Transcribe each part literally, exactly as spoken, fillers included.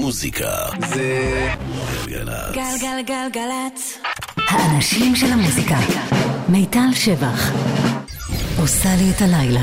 המוזיקה זה גלגלצ. גלגלגלגלצ. האנשים של המוזיקה. מיטל שבח עושה לי את הלילה.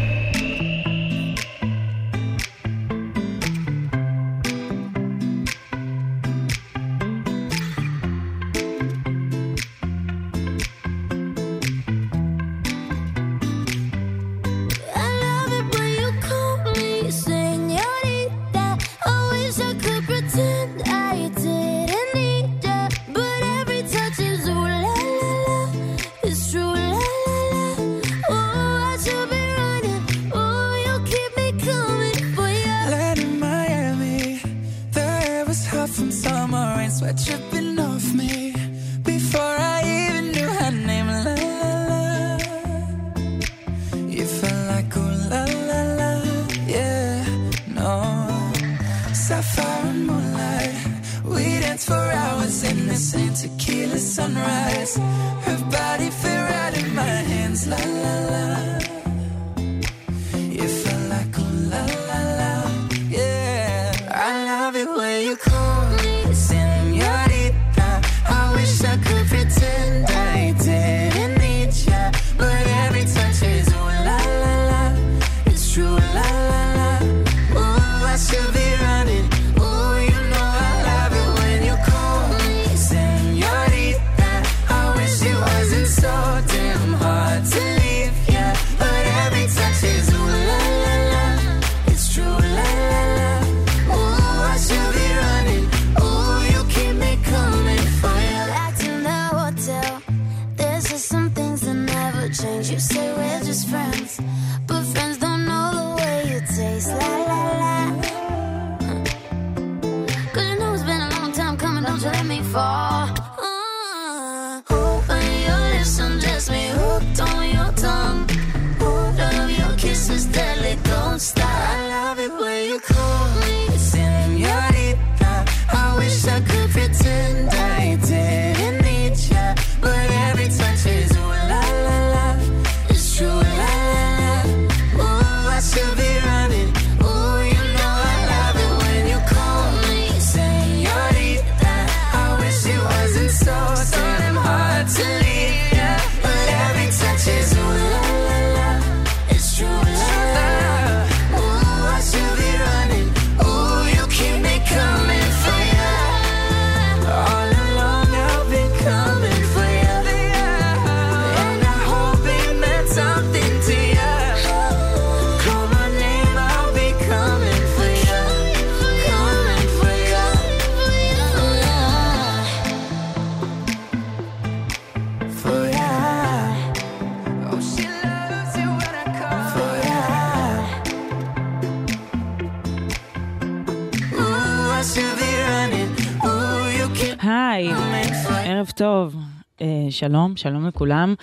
טוב, שלום, שלום לכולם.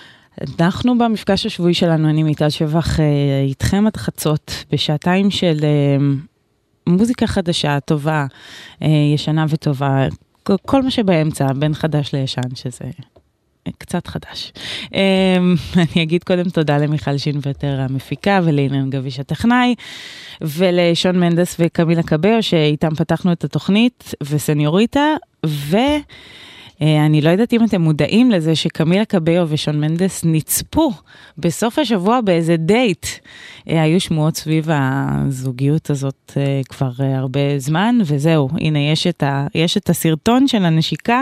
אנחנו במפגש השבועי שלנו, אני מיטל שבח איתכם עד חצות, בשעתיים של מוזיקה חדשה, טובה, ישנה וטובה, כל מה שבאמצע, בין חדש לישן, שזה קצת חדש. אני אגיד קודם תודה למיכל שינוותר המפיקה, ולאילן גביש הטכנאי, ולשון מנדס וקמילה קבאו, שאיתם פתחנו את התוכנית, וסניוריטה, ו... אני לא יודעת אם אתם מודעים לזה שקמילה קבאו ושון מנדס נצפו בסוף השבוע באיזה דייט. היו שמועות סביב הזוגיות הזאת כבר הרבה זמן, וזהו, הנה יש את, ה, יש את הסרטון של הנשיקה.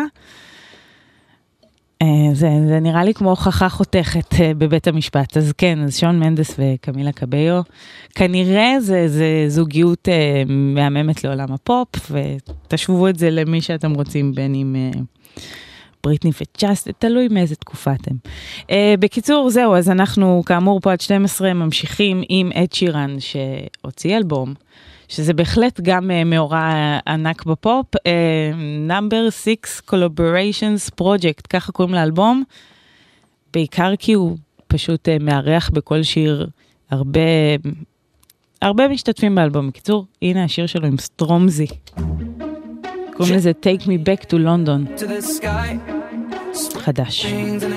זה, זה נראה לי כמו הוכחה חותכת בבית המשפט. אז כן, אז שון מנדס וקמילה קבאו, כנראה זה, זה זוגיות מהממת לעולם הפופ, ותשוו את זה למי שאתם רוצים, בין אם... בריטני וג'אסט, תלוי מאיזה תקופה אתם. Uh, בקיצור, זהו, אז אנחנו כאמור פה עד שתים עשרה ממשיכים עם אד שירן שהוציא אלבום, שזה בהחלט גם uh, מאורע ענק בפופ, uh, Number six Collaborations Project, ככה קוראים לאלבום, בעיקר כי הוא פשוט uh, מארח בכל שיר הרבה, הרבה משתתפים באלבום. בקיצור, הנה השיר שלו עם סטרומזי. קוראים לזה Take Me Back to London. חדש.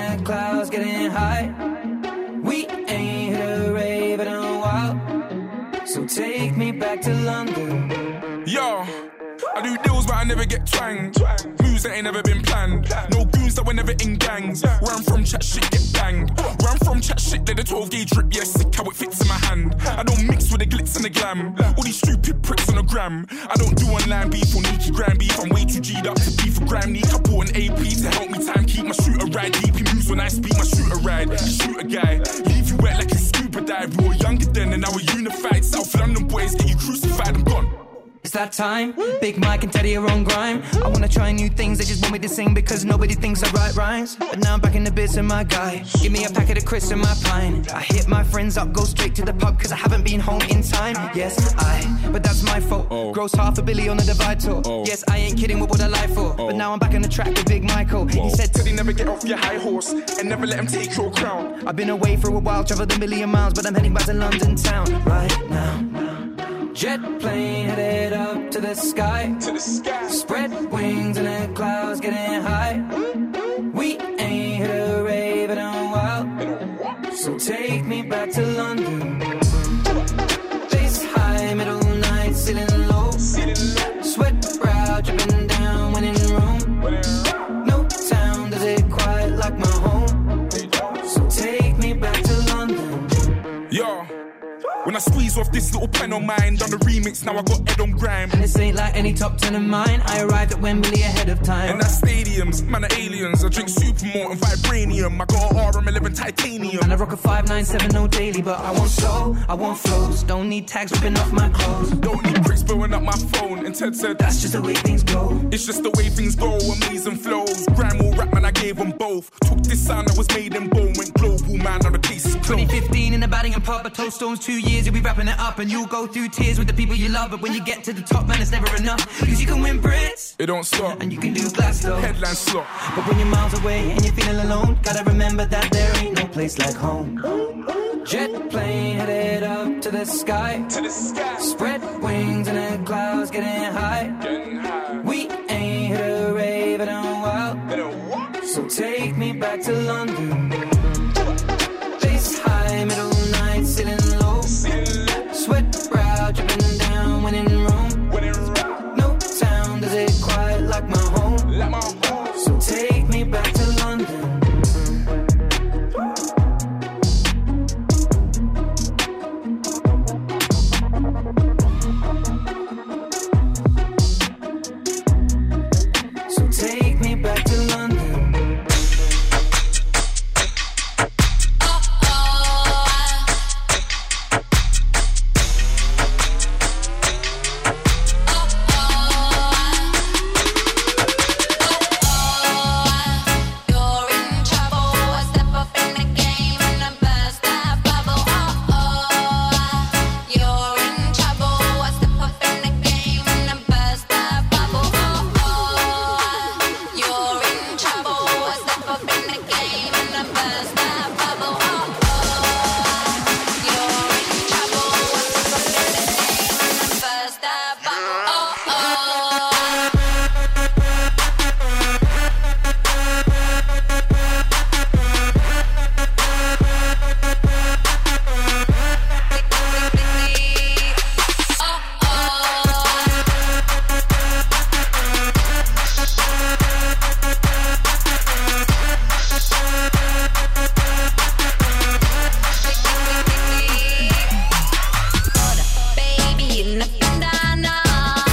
We ain't hit a rave in a while, so take me back to London. Yo, I do deals but I never get twanged. Moves that ain't never been planned. No goons that were never in gangs. Where I'm from, chat shit get banged. Where I'm from, chat shit, let the twelve gauge drip. Yeah, sick how it fits in my hand. I don't mix with the glitz and the glam. All these stupid pricks on the gram. I don't do online beef or Nikki gram beef. I'm way too G'd up to beef for gram neek. I bought an A P to help me time keep my shooter ride deep. He moves when I speak my shooter ride. Shoot a guy, leave you wet like a scuba dive. We were younger then and now we're unified. South London boys get you crucified, I'm gone. It's that time, Big Mike and Teddy are on grime. I wanna try new things, they just want me to sing because nobody thinks I write rhymes. But now I'm back in the biz and my guy, give me a packet of crisps and my pine. I hit my friends up, go straight to the pub cause I haven't been home in time. Yes, I, but that's my fault. oh. Gross half a billy on the Divide tour. oh. Yes, I ain't kidding, what would I lie for? oh. But now I'm back on the track with Big Michael. Whoa. He said, Teddy, never get off your high horse and never let him take your crown. I've been away for a while, traveled a million miles, but I'm heading back to London town right now. Jet plane headed up to the sky. To the sky. Spread wings and the clouds getting high. We ain't hit a rave in a while. So take me back to London. Bass high, middle night, ceiling low. Sweat brow dripping down when in room. No town does it quite like my home. So take me back to London. Yo. When I squeeze off this little pen on mine, done the remix, now I got Ed on grime. And this ain't like any top ten of mine, I arrived at Wembley ahead of time. And that's stadiums, man are aliens, I drink Supermalt and Vibranium. I got a R M eleven titanium. And I rock a five nine seven no daily, but I want soul, I want flows. Don't need tags ripping off my clothes. Don't need bricks blowing up my phone. And Ted said, that's just the way things go. It's just the way things go, amazing flows. Grime or rap, man, I gave them both. Took this sound that was made in bone, went global, man, now the case is closed. twenty fifteen in the batting and pub, I told Stones two years, you'll be wrapping it up. And you'll go through tears with the people you love. But when you get to the top, man, it's never enough. Cause you can win Brits, it don't stop. And you can do Glasgow, headline slot. But when you're miles away and you're feeling alone, gotta remember that there ain't no place like home. Jet plane headed up to the sky. To the sky. Spread wings and the clouds getting high. Getting high. We ain't hit a rave in a while. In a what? So take me back to London. Bass high, middle night, ceiling low. Sweat brow dripping down when in room. When in room. No town does it quite like my home. Like my home. So take me back to London. So take me back to London. Baby in the bandana.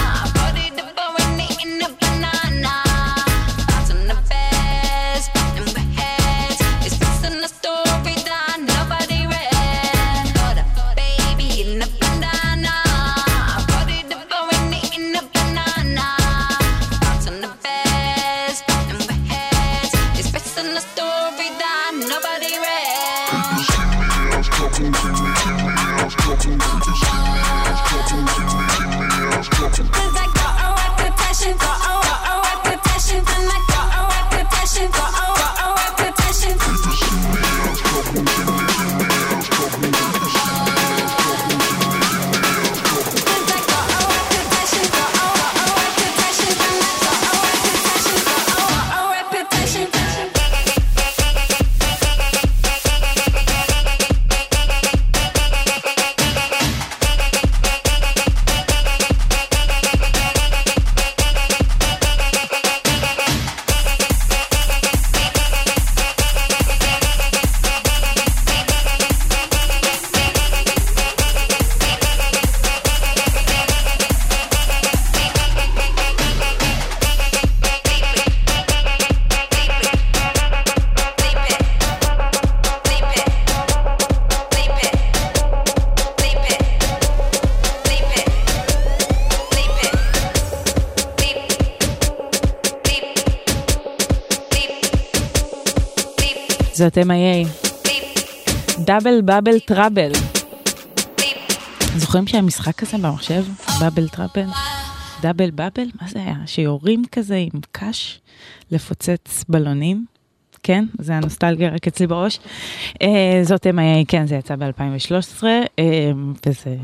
זאת אם איי איי. דאבל בבל טראבל. זוכרים שהמשחק הזה במחשב? בבל טראבל? דאבל בבל? מה זה היה? שיורים כזה עם קש לפוצץ בלונים? כן, זה הנוסטלגיה רק אצלי בראש. זאת אם איי איי, כן, זה יצא ב-אלפיים ושלוש עשרה, וזה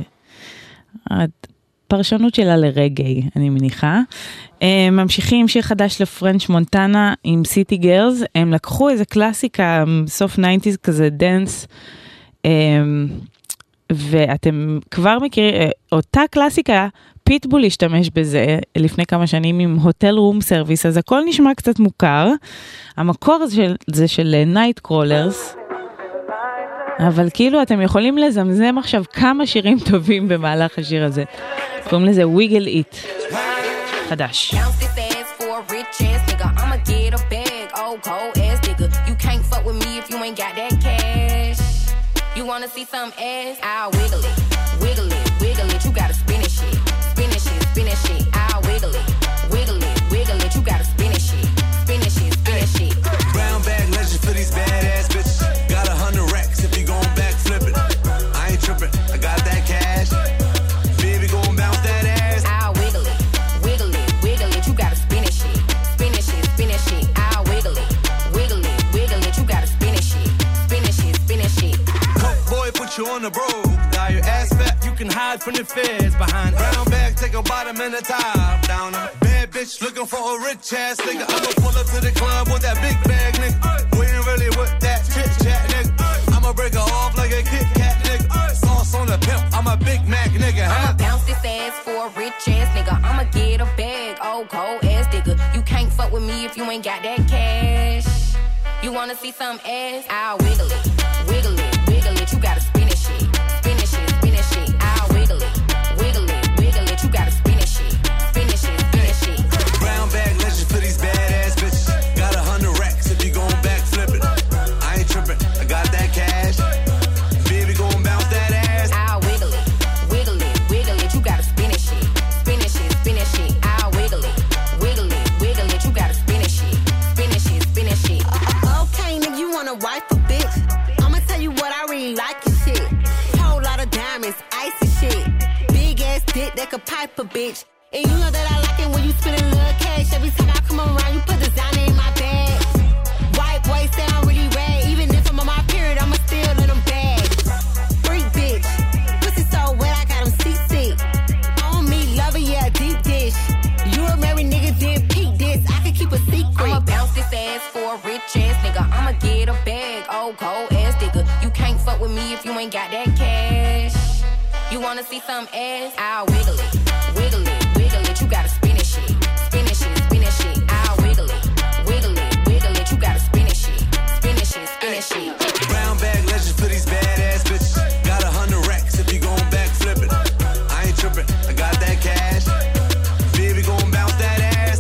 הפרשנות שלה לרגעי, אני מניחה. ממשיכים שיר חדש לפרנץ' מונטנה עם סיטי גרלס, הם לקחו איזה קלאסיקה, סוף ניינטיז כזה, דנס, ואתם כבר מכירים, אותה קלאסיקה, פיטבול השתמש בזה לפני כמה שנים עם הוטל רום סרוויס, אז הכל נשמע קצת מוכר. המקור זה של, זה של נייט קרולרס, אבל כאילו אתם יכולים לזמזם עכשיו כמה שירים טובים במהלך השיר הזה. קוראים לזה ויגל איט. חדש. You wanna see some ass? I'll wiggle it, wiggle it, wiggle it. You gotta spin it shit, spin it shit, spin it shit. I'll wiggle it, wiggle it, wiggle it. You gotta spin it shit, spin it shit, spin it shit. Brown bag legend for these badass bitches. Got a hundred racks if you gon' back flip it. I ain't tripping, I got that cash. Baby gon' bounce that ass. I'll wiggle it, wiggle it, wiggle it. You gotta spin it shit, spin it shit, spin it shit. I'll wiggle it, wiggle it, wiggle it. You gotta spin it shit, spin it shit, spin it shit. Boy, put you on the road. Now your ass fat, you can hide from the feds behind brown bag, take a bottom and a top down. A bad bitch looking for a rich ass nigga. I'ma pull up to the club with that big bag, nigga. We ain't really with that chit chat, nigga. I'ma break her off like a Kit Kat, nigga. Sauce on the pimp, I'm a Big Mac, nigga. Huh? I'ma bounce this ass for a rich ass nigga. I'ma get a bag, old cold ass nigga. You can't fuck with me if you ain't got that cash. You wanna see some ass? I'll wiggle it, wiggle it. You gotta spin it shit, spin it shit, spin it shit. I'll wiggle it, wiggle it, wiggle it. You gotta spin it shit, spin it shit, spin it shit. Brown bag legend for these badass bitches. Got a hundred racks if you gon' back flip it. I ain't tripping, I got that cash. Baby gon' bounce that ass. I'll wiggle it, wiggle it, wiggle it. You gotta spin it shit, spin it shit, spin it shit. I'll wiggle it, wiggle it, wiggle it. You gotta spin it shit, spin it shit, spin it shit. Okay, nigga, you wanna wife a bitch? You what I really like your shit. Whole lot of diamonds, icy shit. Big ass dick that could pipe a bitch. And you know that I like it when you spend a little cash. Every time I come around, you put designer in my bag. White boy say I'm really rad. Even if I'm on my period, I'ma still let them bag. Freak bitch, pussy so wet I got him seasick. On me, love it, yeah, deep dish. You a married nigga, then peak this. I can keep a secret. I'ma bounce this ass for a rich ass nigga. I'ma get a bag, old cold ass nigga. You can't fuck with me if you ain't got that cash. You wanna see some ass? I'll wiggle it, wiggle it, wiggle it. You gotta spin it shit, spin it shit, spin it shit. I'll wiggle it, wiggle it, wiggle it. You gotta spin it shit, spin it shit, spin it shit. Brown bag legend for these badass bitches. Got a hundred racks if you gon' back flip it. I ain't tripping, I got that cash. Baby gon' bounce that ass.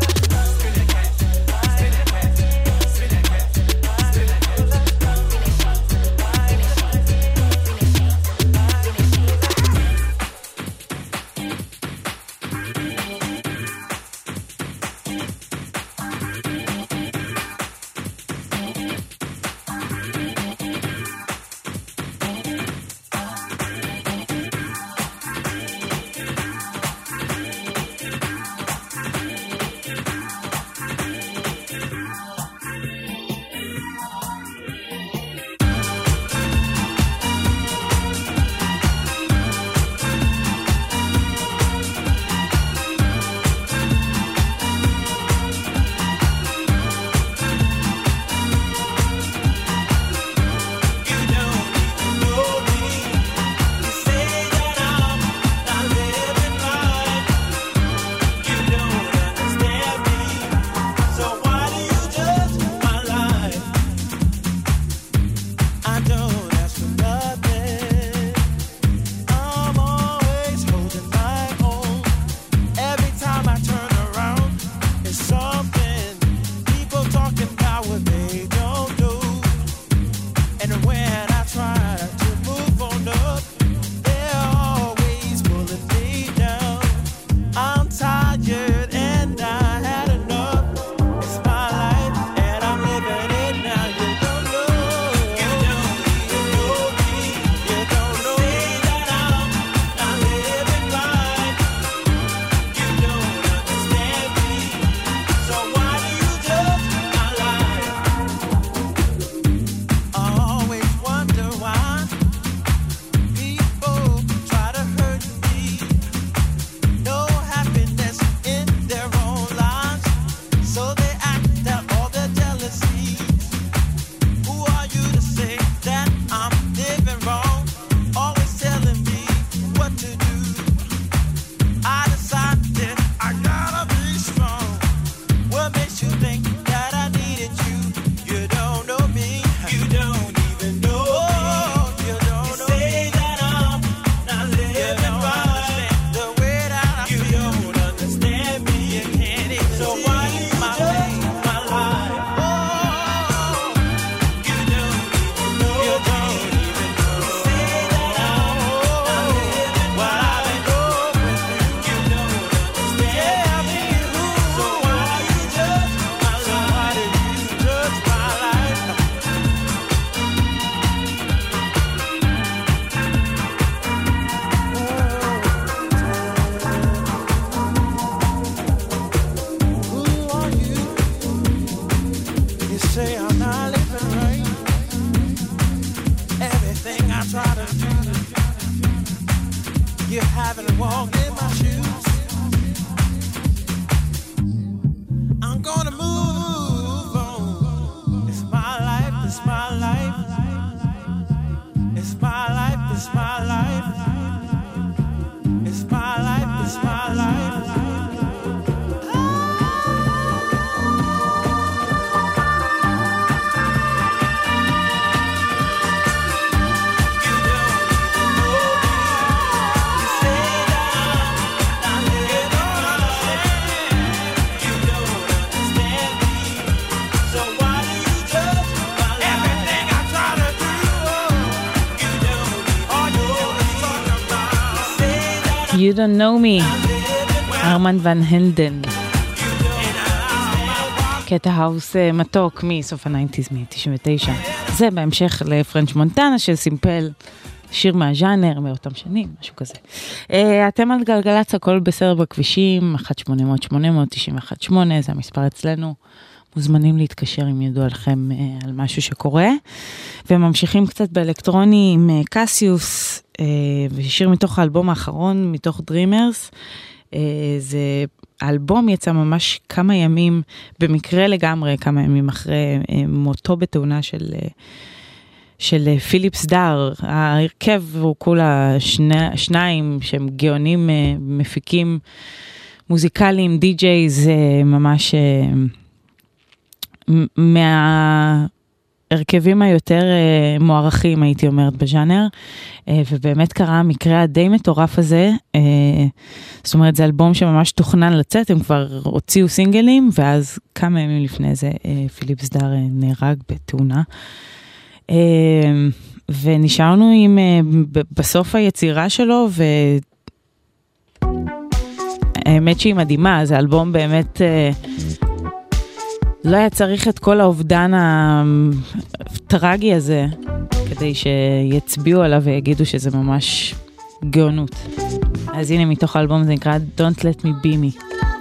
You Don't Know Me, ארמן ון הלדן. קטע האוס מתוק מסוף הניינטיז, מ-תשעים ותשע. זה בהמשך לפרנץ' מונטנה של סימפל, שיר מהז'אנר, מאותם שנים, משהו כזה. אתם על גלגלץ, הכל בסדר בכבישים, אחת שמונה אפס אפס שמונה אפס אפס תשע אחת שמונה, זה המספר אצלנו. מוזמנים להתקשר אם ידעו עליכם על משהו שקורה. וממשיכים קצת באלקטרוני עם קסיוס, ושיר מתוך האלבום האחרון, מתוך דרימרס. זה האלבום יצא ממש כמה ימים, במקרה לגמרי, כמה ימים אחרי מותו בתאונה של, של פיליפס דר. ההרכב הוא כולה שני, שניים שהם גאונים, מפיקים מוזיקליים, די-ג'ייז, ממש מההרכבים היותר מוערכים, הייתי אומרת, בז'אנר, ובאמת קרה המקרה הדי מטורף הזה. זאת אומרת, זה אלבום שממש תוכנן לצאת, הם כבר הוציאו סינגלים, ואז כמה ימים לפני זה פיליפס דר נהרג בתאונה. ונשארנו עם, בסוף היצירה שלו, והאמת שהיא מדהימה, זה אלבום באמת לא היה צריך את כל האובדן הטרגי הזה, כדי שיצביעו עליו ויגידו שזה ממש גאונות. אז הנה מתוך האלבום, זה נקרא Don't Let Me Be Me.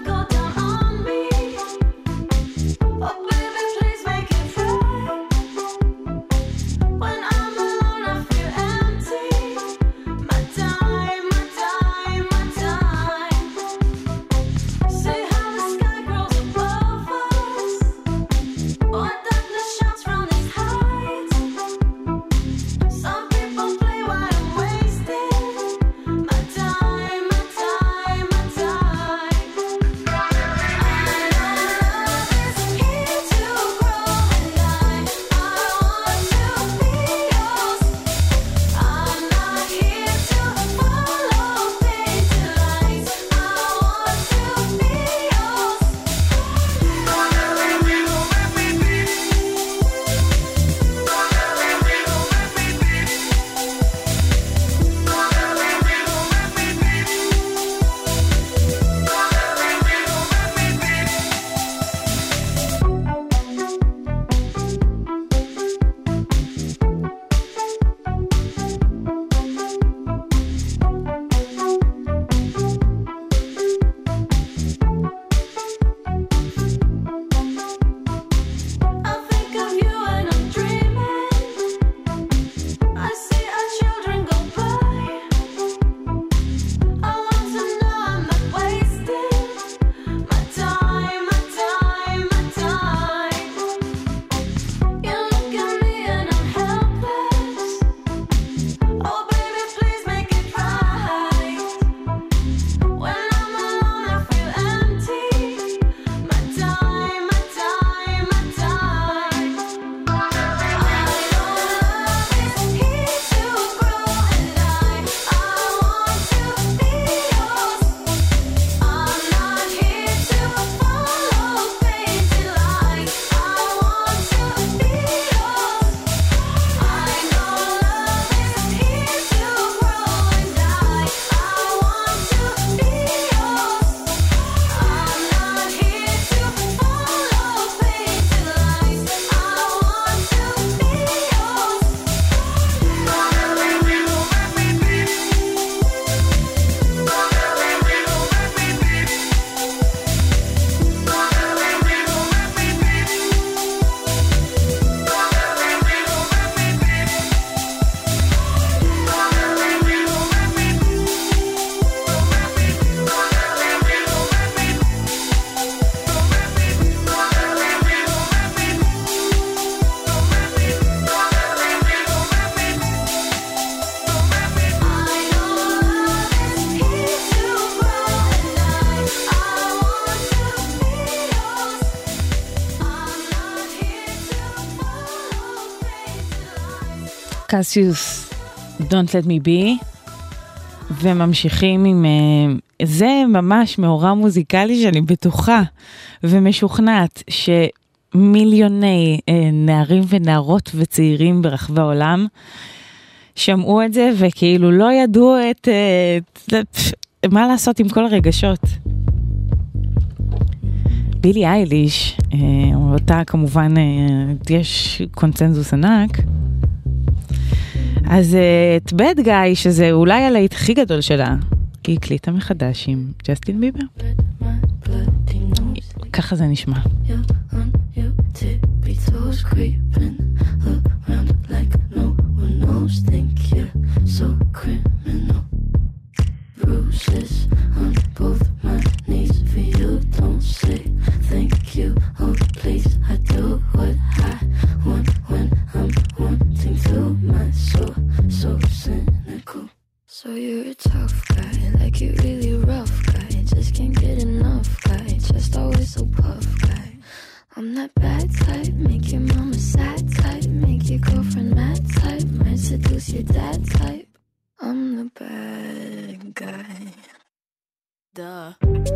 קסיוס, Don't Let Me Be, וממשיכים עם, זה ממש מאורע מוזיקלי שאני בטוחה ומשוכנעת שמיליוני נערים ונערות וצעירים ברחבי העולם שמעו את זה וכאילו לא ידעו את, את מה לעשות עם כל הרגשות? בילי אייליש, אותה כמובן יש קונצנזוס ענק, אז את בד גאי, שזה אולי הלהיט הכי גדול שלה, היא הקליטה מחדש עם ג'סטין ביבר. ככה זה נשמע. Bruises on both my knees for you. Don't say thank you, oh please. I do what I want when I'm wanting to. My soul so cynical. So you're a tough guy, like you really rough guy. Just can't get enough guy, just always so puff guy. I'm that bad type, make your mama sad type, make your girlfriend mad type, might seduce your dad type. I'm the bad guy. Duh.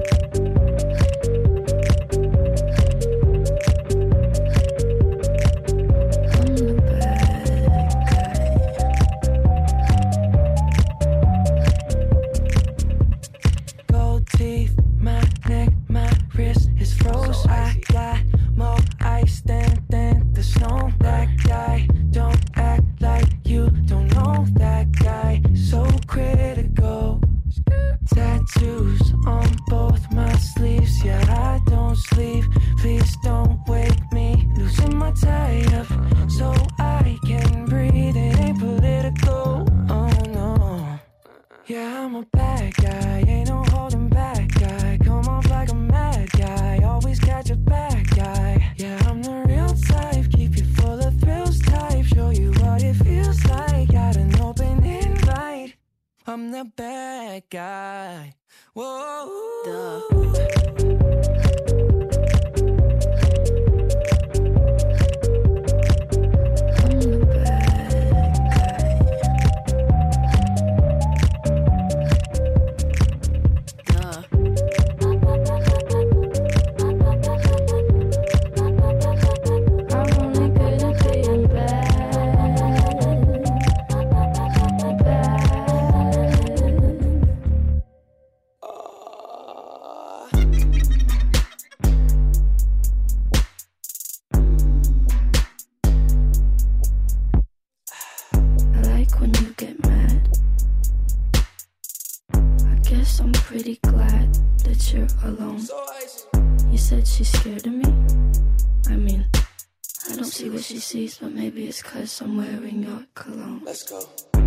But maybe it's cause I'm wearing your cologne. Let's go.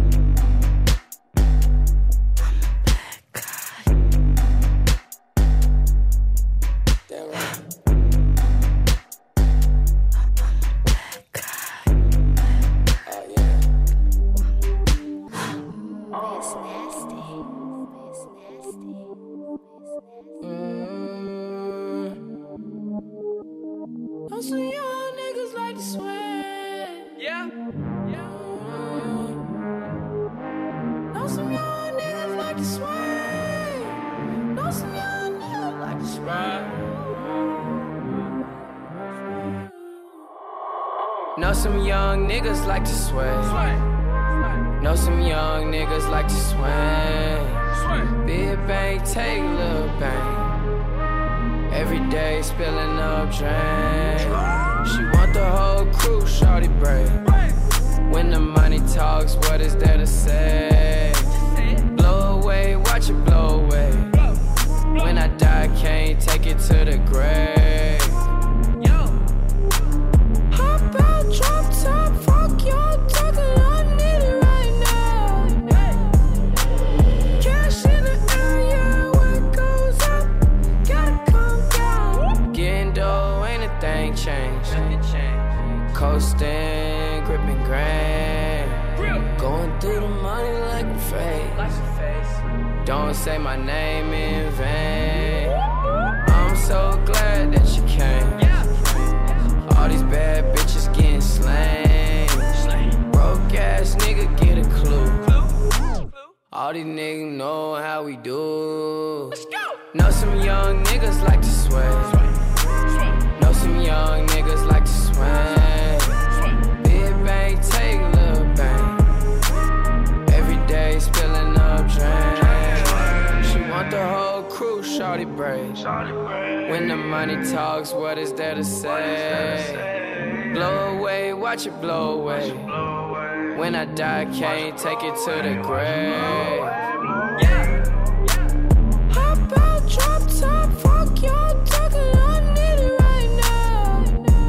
I'm a bad guy. Damn right. I'm a bad guy. Oh yeah. It's nasty. It's nasty. Mm. I'm so young, niggas like to swear. Yeah, yeah. Know some young niggas like to sway. Know some young niggas like to sway. Know some young niggas like to sway. Know some young niggas like to sway. Big bang, take little bang. Every day spilling up drain. She want the whole crew, shawty brave. When the money talks, what is there to say? Blow away, watch it blow away. When I die, can't take it to the grave. Hop out, drop top, fuck y'all talking, I need it right now. Cash in the area, where it goes up, gotta come down. Getting dough, ain't a thing changed. Coasting, gripping grand. Going through the money like a face. Don't say my name in vain. I'm so glad that you came. All these bad bitches getting slain. Broke ass nigga get a clue. All these niggas know how we do. Know some young niggas like to sway. Know some young niggas like to sway. Take a little bang. Every day spilling up drain. She shorty braid. When the money talks, what is there to say? Blow away, watch it blow away. When I die, can't take it to the grave. Hop out, drop top, fuck y'all talking, I need it right now.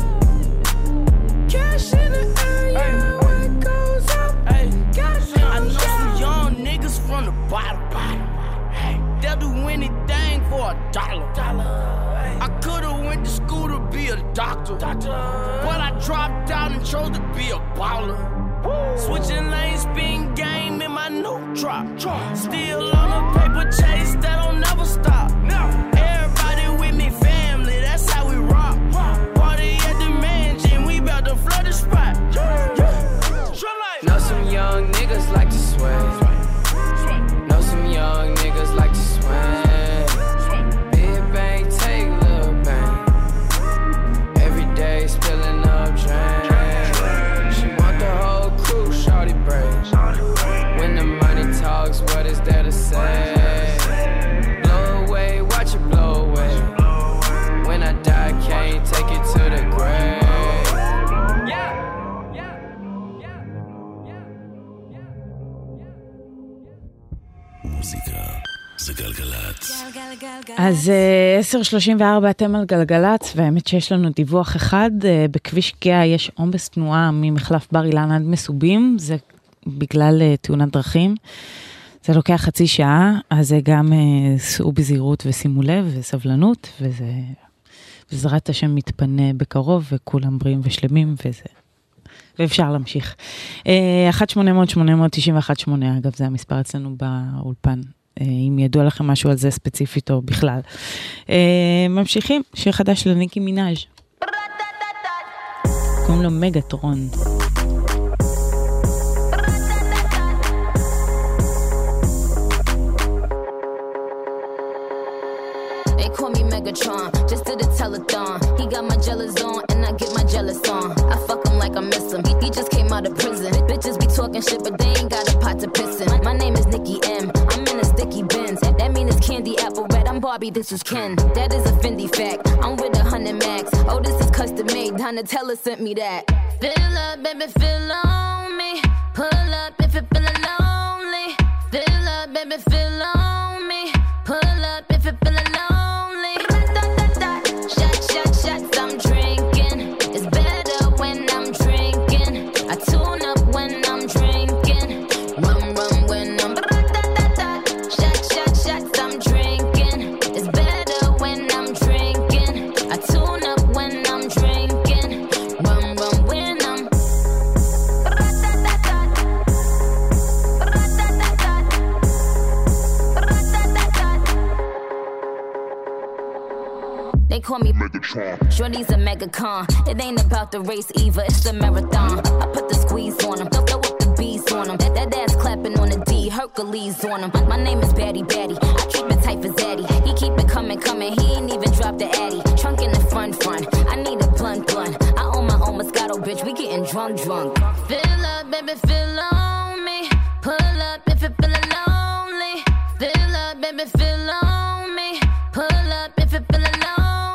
Cash in the area, where it goes up. Cash in I know some young niggas from the bottom. They'll do anything for a dollar. I could've went to school to be a doctor, but I dropped out and chose to be a baller. Switching lanes, spin game in my new drop. Still on a paper chase that don't never stop. Everybody with me, family, that's how we rock. Party at the mansion, we bout to flood the spot. Know some young niggas like to sway. Know some young niggas like to swing. Big bang, take little bang. Every day spilling up drain. She want the whole crew, shorty braid. When the money talks, what is there to say? Blow away, watch it blow away. When I die, can't take it to the grave. מוזיקה זה גלגלצ. אז עשר שלושים וארבע אתם על גלגלצ, והאמת שיש לנו דיווח אחד. בכביש גאה יש עומס תנועה ממחלף בר אילן עד מסובים, זה בגלל תאונת דרכים. זה לוקח חצי שעה, אז זה גם סעו בזהירות ושימו לב וסבלנות, וזה בעזרת השם מתפנה בקרוב, וכולם בריאים ושלמים, וזה ואפשר להמשיך. אחת שמונה אפס אפס שמונה תשע אחת שמונה, אגב, זה המספר אצלנו באולפן, אם ידוע לכם משהו על זה ספציפית או בכלל. ממשיכים, שיר חדש לניקי מינאז'. קוראים לו מגטרון. They call me Megatron, just did a telethon. He got my jealous on, and I get my jealous on. I fuck him like I miss him. He, he just came out of prison. Bitches be talking shit, but they ain't got a pot to piss in. My name is Nicki M. I'm in a sticky Benz. That mean it's candy apple red. I'm Barbie, this is Ken. That is a Fendi fact. I'm with a hundred max. Oh, this is custom made. Donatella sent me that. Fill up, baby, fill on me. Pull up if you're feeling lonely. Fill up, baby, fill on me. Pull up if you're feeling lonely. Call me Megatron. Shorty's a megacon. It ain't about the race either, it's a marathon. I put the squeeze on him, go go with the bees on him. That, that ass clapping on the D, Hercules on him. My name is Batty Batty, I keep it tight for Zaddy. He keep it coming, coming, he ain't even dropped the Addy. Trunk in the front, front, I need a blunt, blunt. I own my own Moscato, bitch, we getting drunk, drunk. Fill up, baby, fill on me. Pull up if you're feeling lonely. Fill up, baby, fill on me. Pull up if you're feeling lonely.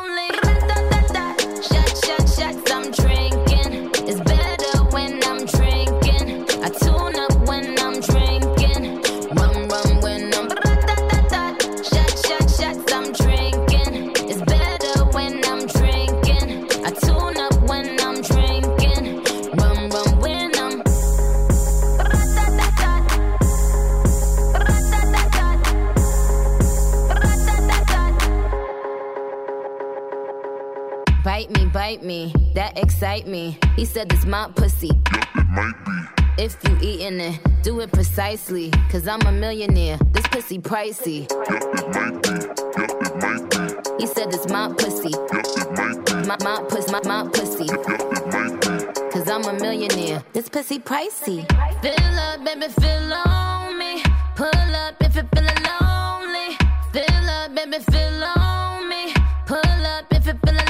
Bite me, that excite me. He said it's my pussy. Yeah, it might be. If you eatin' it, do it precisely. Cause I'm a millionaire, this pussy pricey. Yeah, it might be. Yeah, it might be. He said it's my pussy. Yeah, it might be. My, my pussy, my, my pussy. Yeah, it might be. Cause I'm a millionaire, this pussy pricey. Fill up, baby, fill on me. Pull up if you're feeling lonely. Fill up, baby, fill on me. Pull up if you're feeling lonely.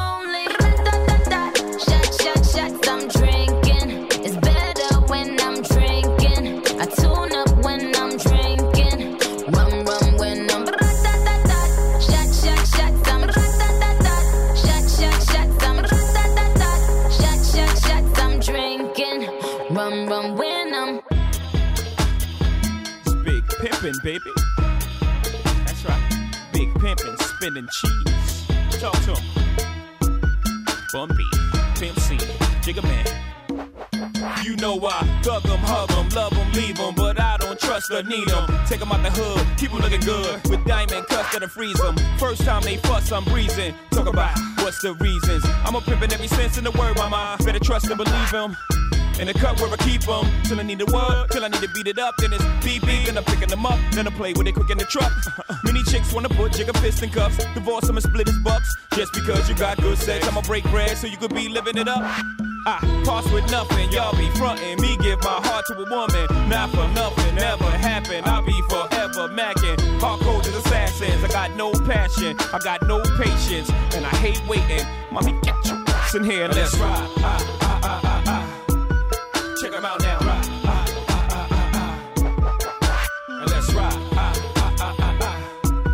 I'm drinking. It's better when I'm drinking. I tune up when I'm drinking. Rum rum when I'm shot baby. That's right. Big pimpin', spinning cheese. Talk to him. Bumpy, Pimp C, Jigga Man. You know I thug 'em, hug 'em, love 'em, leave 'em, but I don't trust or need 'em. Take 'em out the hood, keep 'em looking good, with diamond cuffs that'll freeze 'em. First time they fuss, I'm breezing. Talk about what's the reasons. I'm a pimpin' every sense in the word, mama. Better trust and believe 'em. In the cut where I keep 'em, till I need a word, till I need to beat it up, then it's beep beep, then I'm picking them up, then I play with it quick in the truck. Many chicks wanna put Jigga fist in cuffs, divorce 'em and split his bucks. Just because you got good sex, I'ma break bread so you could be living it up. I pass with nothing, y'all be frontin'. Me give my heart to a woman, not for nothing, never happen. I'll be forever macking. Hardcore as assassins, I got no passion, I got no patience, and I hate waiting. Mommy, get your ass in here, let's ride. Ah, ah, ah, ah, ah. Check 'em out now. Ride. Ah, ah, ah, ah, ah. And let's ride. Ah, ah, ah, ah, ah.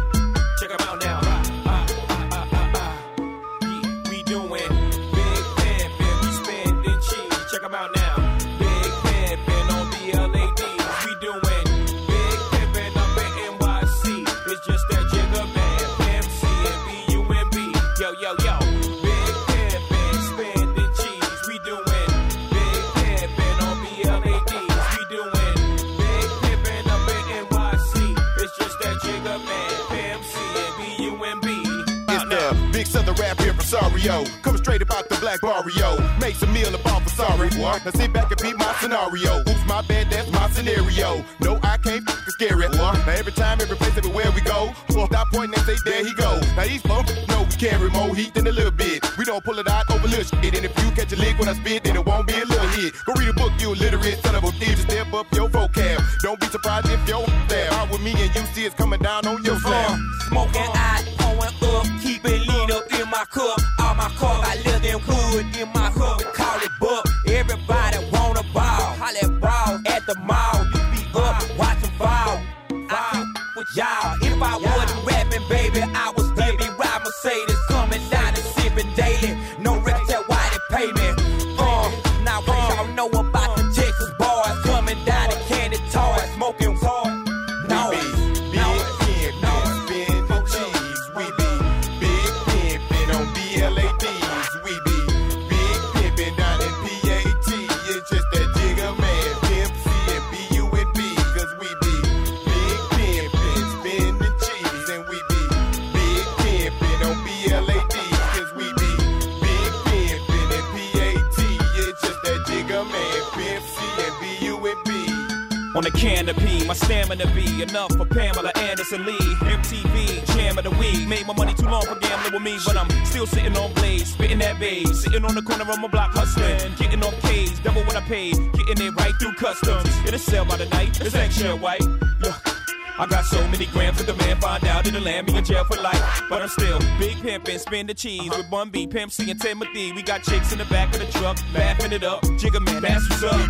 Check 'em out now. Ride. Ah, ah, ah, ah, ah. Yeah, we doing big pimpin', we spending cheese. Check 'em out now. Big pimpin' on B L A D. We doing big pimpin' up in N Y C. It's just that Jigga Man, Pimp C and B U M B. Yo, yo, yo. Big pimpin', spending cheese. We doing big pimpin' on B L A D. We doing big pimpin' up in N Y C. It's just that Jigga Man, Pimp C and B U M B. It's the big southern rap impresario, coming straight about the black barrio. Make some meal about for sorry, boy. Now sit back and beat my scenario. Oops, my bad, that's my scenario. No, I can't f***ing scare it, boy. Now every time, every place, everywhere we go, stop pointing and say, there he go. Now these folks know we carry more heat than a little bit. We don't pull it out over little shit. And if you catch a lick when I spit, then it won't be a little hit. Go read a book, you illiterate son of a thief. Just step up your vocab. Don't be surprised if your there out with me and you see it's coming down on your slab. Smoking out, pouring up, keep it lean up in my cup. All my cars, I live in hood, in my hood, we call it buck. Everybody wanna ball, holla at ball at the mall. You be up, watching ball. I with y'all. If I wasn't rapping, baby, I would still be riding Mercedes, coming down and sipping daily. No rep, tell why they pay me. Uh, now what y'all know about the Texas boys coming down and candy toys, smoking hard. No, no, no, spin the cheese. We be big pimpin' on B L A Ds. We be big pimpin' down in P A T. It's just that Jigga Man, Pimp C and B U M B. Cause we be big pimpin', spin the cheese. And we be big pimpin' on B L A Ds. Cause we be big pimpin' in P A T. It's just that Jigga Man, Pimp C and B U M B. On the canopy, my stamina be enough for Pamela Anderson Lee. M T V, jam of the week. Made my money too long for gambling with me, but I'm still sitting on blades, spitting that babe. Sitting on the corner of my block hustling, getting off K's, double what I paid, getting it right through customs. It'll sell by the night, it's extra white. Look, I got so many grams that the man find out it'll land me in jail for life. But I'm still big pimpin', spin the cheese uh-huh. with Bun B, Pimp C and Timothy. We got chicks in the back of the truck, laughing it up. Jigga Man, that's what's up.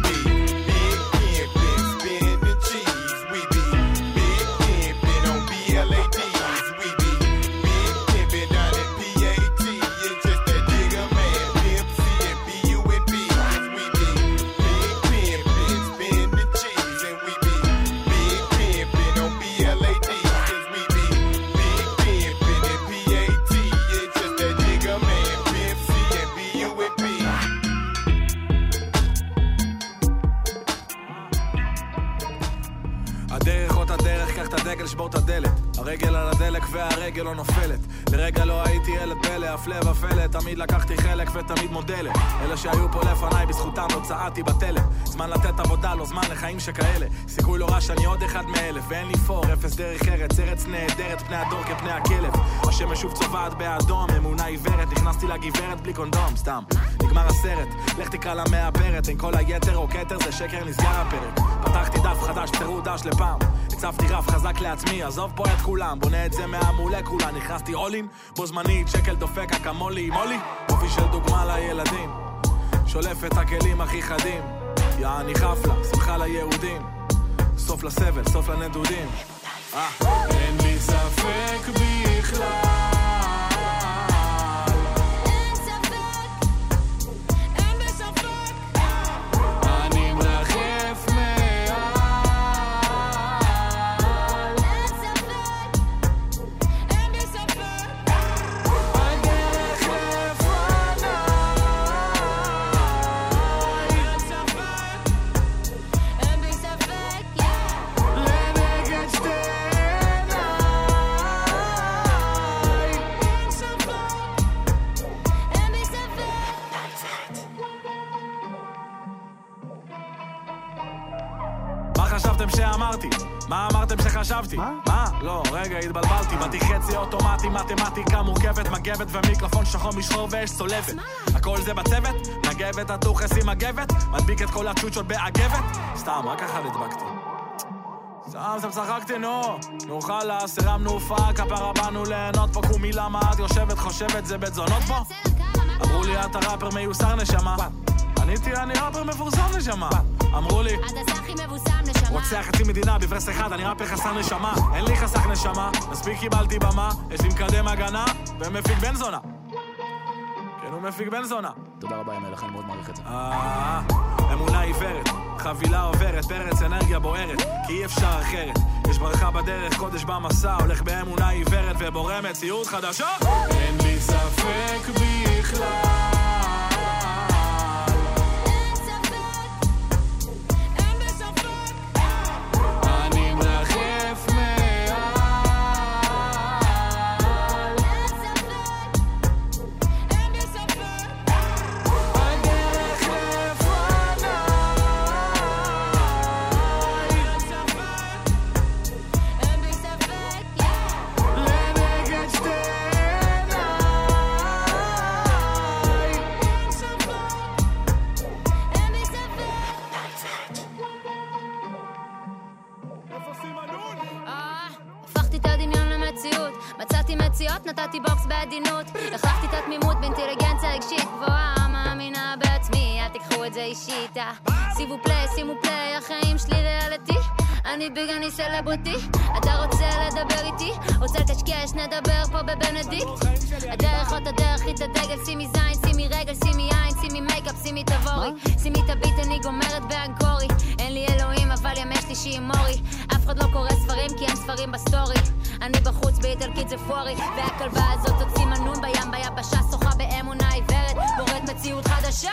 B L A Ds, we be big pimpin' down in P A T. It's just that Jigga Man, Pimp C and B U M B. Cause we be big pimpin', spin the cheese. And we be big pimpin' on B L A Ds. Cause we be big pimpin' in P A T. It's just that Jigga Man, Pimp C and B U M B. הדרך אותה דרך, קח את הדגל, שבור את הדלת. הרגל על הדלק והרגל לא נופלת. לרגע לא הייתי ילד פלא, אף לב אפלה. תמיד לקחתי חלק ותמיד מודלת. אלה שהיו פה לפניי, בזכותם לא צעדתי בתלם. זמן לתת עבודה, לא זמן לחיים שכאלה. סיכוי לא רע שאני עוד אחד מאלף. ואין לי פור, אפס דרך ארץ, ארץ נהדרת, פני הדור כפני הכלב. השמש שוב צובעת באדום, אמונה עיוורת. נכנסתי לגברת בלי קונדום, סתם נגמר הסרט, לך תקרא לה מהפרת. אין כל היתר או כתר, זה שקר, נסגר הפרק. פתחתי דף חדש, תראו דש לפעם. הצבתי רף חזק לעצמי, עזוב פה את כולם, בונה את זה מהמולקולה. נכנסתי אולין, בו זמנית, שקל דופק אקמולי, מולי אופי של דוגמה לילדים, שולף את הכלים הכי חדים. יעני חפלה, שמחה ליהודים, סוף לסבל, סוף לנדודים. אין לי ספק בכלל, אני מרחף מעל שאמרתי? מה אמרתם שחשבתי? מה? מה? לא, רגע, התבלבלתי. באתי חצי אוטומטי, מתמטיקה מורכבת, מגבת ומיקרופון שחור משחור ואש צולבת. הכל זה בצוות? מגבת, התוכס עם מגבת? מדביק את כל הצ'וצ'ות באגבת? סתם, רק ככה נדבקתי. סתם, סתם צחקתי, נו. נו חלס, הרמנו הופעה, כפרה באנו ליהנות פה. קומי למה את יושבת, חושבת, זה בית זונות פה? אמרו לי, אתה ראפר מיוסר נשמה. עניתי, אני ראפר מפורסם נשמה. אמרו לי, אתה סחי מבוסם נשמה. רוצה חצי מדינה בברס אחד, אני ראפר חסר נשמה. אין לי חסך נשמה, מספיק קיבלתי במה. יש לי מקדם הגנה ומפיק בן זונה. כן, הוא מפיק בן זונה. תודה רבה, ימי לכן, מאוד מעריך את זה. אה, אמונה עיוורת, חבילה עוברת, פרץ אנרגיה בוערת, כי אי אפשר אחרת. יש ברכה בדרך, קודש במסע, הולך באמונה עיוורת ובורא מציאות חדשה. אין לי ספק בכלל. נתתי בוקס בעדינות, החלפתי את התמימות באינטליגנציה רגשית גבוהה, מאמינה בעצמי, אל תיקחו את זה אישית. שימו פליי, שימו פליי, החיים שלי ריאליטי, אני ביג, אני סלבריטי. אתה רוצה לדבר איתי? רוצה לקשקש, נדבר פה בבנדיקט. הדרך עוד הדרך, היא את הדגל, שימי זין, שימי רגל, שימי עין, שימי מייקאפ, שימי תבורי, שימי את הביט, אני גומרת באנקורי. אין לי אלוהים, אבל ימי שלישי עם מורי. אף אחד לא קורא ספרים, כי אין ספרים בסטורי. אני בחוץ באיטלקית זה פורי, והכלבה הזאת תוציא מנון בים ביבשה, שוחה באמונה עיוורת, בורת מציאות חדשה.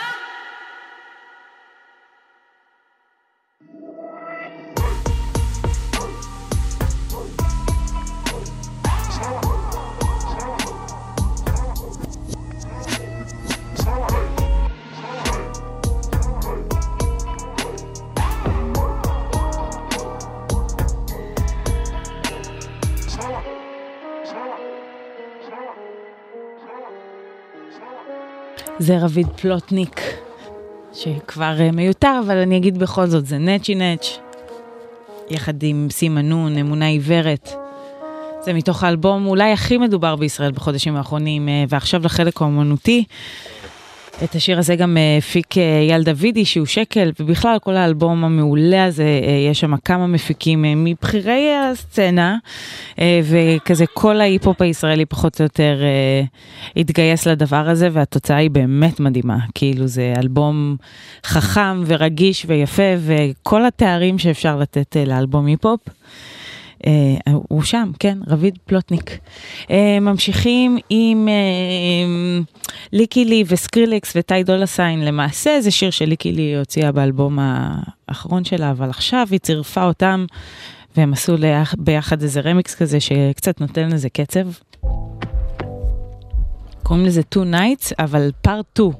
זה רביד פלוטניק, שכבר מיותר, אבל אני אגיד בכל זאת, זה נצ'י נץ', יחד עם סימנון, אמונה עיוורת. זה מתוך האלבום אולי הכי מדובר בישראל בחודשים האחרונים, ועכשיו לחלק האומנותי. את השיר הזה גם הפיק אייל דוידי, שהוא שקל, ובכלל כל האלבום המעולה הזה, יש שם כמה מפיקים מבחירי הסצנה, וכזה כל ההיפ-הופ הישראלי פחות או יותר התגייס לדבר הזה, והתוצאה היא באמת מדהימה. כאילו זה אלבום חכם ורגיש ויפה, וכל התארים שאפשר לתת לאלבום היפ-הופ, Uh, הוא שם, כן, רביד פלוטניק. Uh, ממשיכים עם uh, ליקי לי וסקרילקס וטי דולה סיין. למעשה זה שיר שליקי לי הוציאה באלבום האחרון שלה, אבל עכשיו היא צירפה אותם, והם עשו ביחד איזה רמיקס כזה שקצת נותן לזה קצב. קוראים לזה Two Nights, אבל Part two.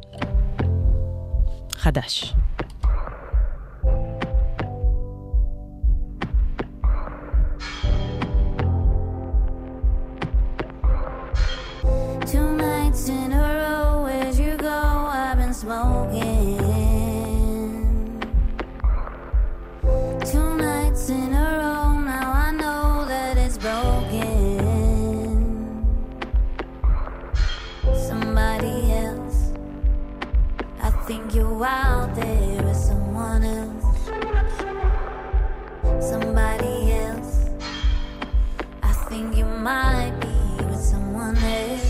חדש. Two nights in a row, where'd you go? I've been smoking. Two nights in a row, now I know that it's broken. Somebody else, I think you're out there with someone else. Somebody else, I think you might be with someone else.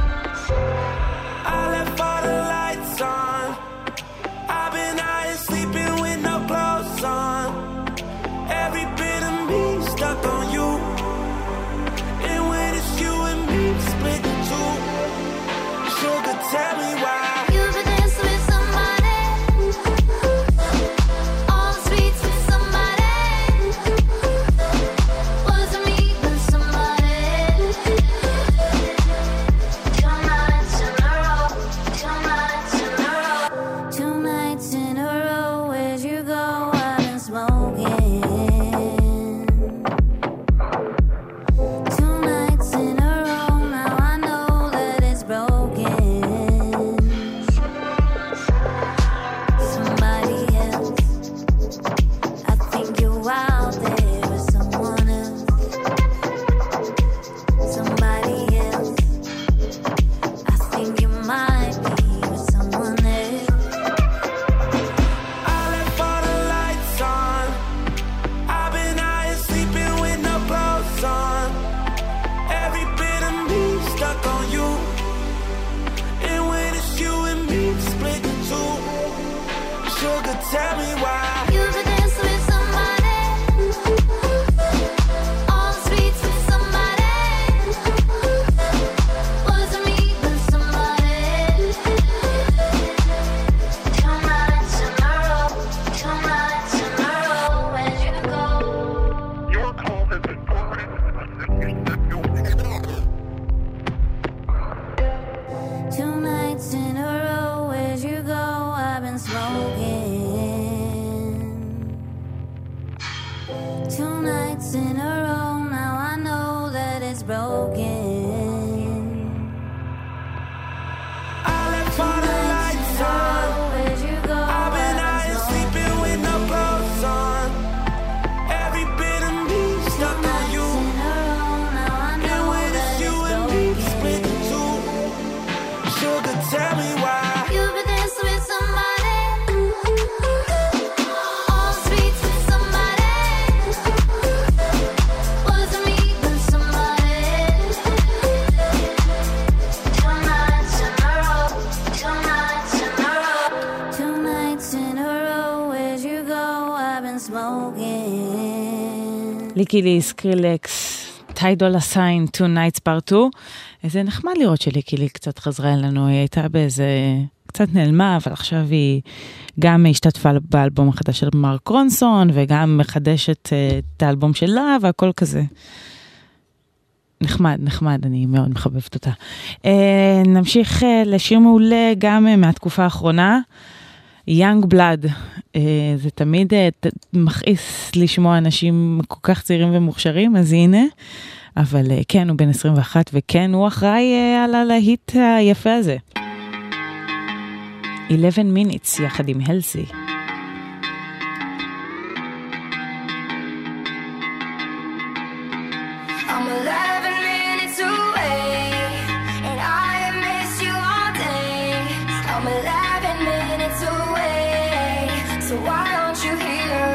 I left all the lights on. I've been out here sleeping with no clothes on. Every bit of me stuck on you. And when it's you and me, split in two. Sugar, tell me why. You've been dancing with somebody, all the streets with somebody. Wasn't me, but somebody. Two nights in a row, where'd you go? I've been smoking. Two nights in a row, now I know that it's broken. I left all the lights on. Where'd you go? I've been out here sleeping with no clothes on. Every bit of me stuck on you. And when it's you and me split in two, sugar, tell me why. You've been dancing with somebody, on streets with somebody. Wasn't me, but somebody. Two nights in a row, two nights in a row. Two nights in a row, where'd you go? I've been smoking. ליקי לי, סקרילקס, טיידול הסיין, Two Nights Part two. איזה נחמד לראות שליקי לי קצת חזרה אלינו, היא הייתה באיזה, קצת נעלמה, אבל עכשיו היא גם השתתפה באלבום החדש של מרק רונסון, וגם מחדשת את האלבום שלה, והכל כזה. נחמד, נחמד, אני מאוד מחבבת אותה. נמשיך לשיר מעולה גם מהתקופה האחרונה, Young Blood. זה תמיד מכעיס לשמוע אנשים כל כך צעירים ומוכשרים, אז הנה. אבל כן, הוא בן עשרים ואחת, וכן, הוא אחראי על הלהיט היפה הזה. eleven minutes יחד עם הלסי. I'm eleven minutes away, and I miss you all day. I'm eleven minutes away, so why aren't you here?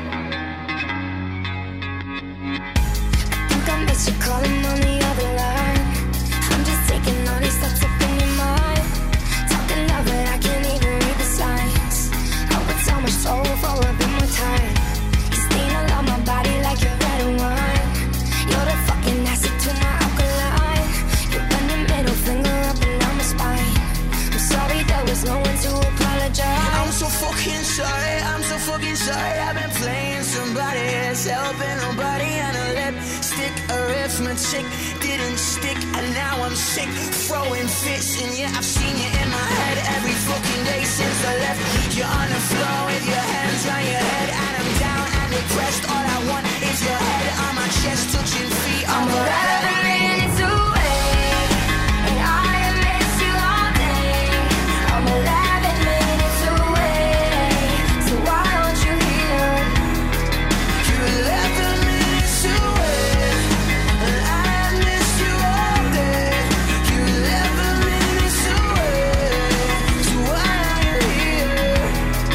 I think I miss you calling on the other line. I'm just taking all these thoughts up in your mind, talking loud but I can't even read the signs. I would so much soul for a bit more time. You stain along my body like you're red wine. You're the fucking acid to my alkaline. You bend your middle finger up and down my spine. I'm sorry there was no one to apologize. I'm so fucking sorry, I'm so fucking sorry. I've been playing somebody else, helping nobody on a lipstick. Arithmetic didn't stick, and now I'm sick, throwing fits. And yeah, I've seen you in my head every fucking day since I left. You're on the floor with your hands on your head, and I'm down and depressed. All I want is your head on my chest, touching feet. I'm eleven minutes away, and I miss you all day. I'm eleven minutes away, so why aren't you here? You're eleven minutes away, and I miss you all day. You're eleven minutes away, so why are you here?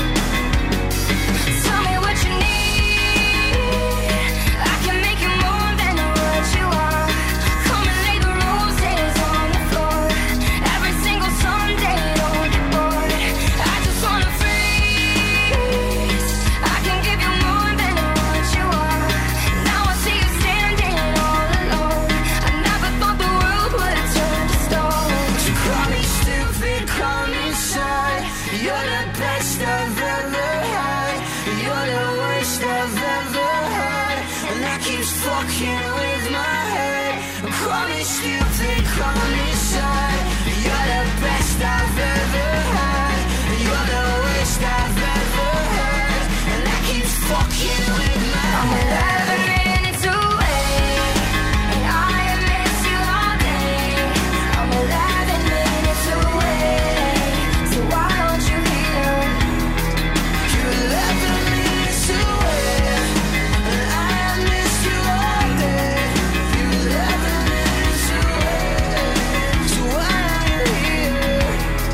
Tell me what you need. I can make you more than what you are. Come and lay the roses on the floor. Every single Sunday, don't get bored. I just wanna freeze. I can give you more than what you are. Now I see you standing all alone. I never thought the world would turn to stone. You call me stupid, call me shy. You're the best I've ever had. You're the worst I've ever had, and that keeps fucking with my head. Call me stupid, call me shy. You're the best I've ever had. You're the worst I've ever had, and that keeps fucking with my I'm head. eleven minutes away, and I miss you all day. I'm eleven minutes away, so why aren't you here? You're eleven minutes away, and I miss you all day. You're eleven minutes away, so why are you here?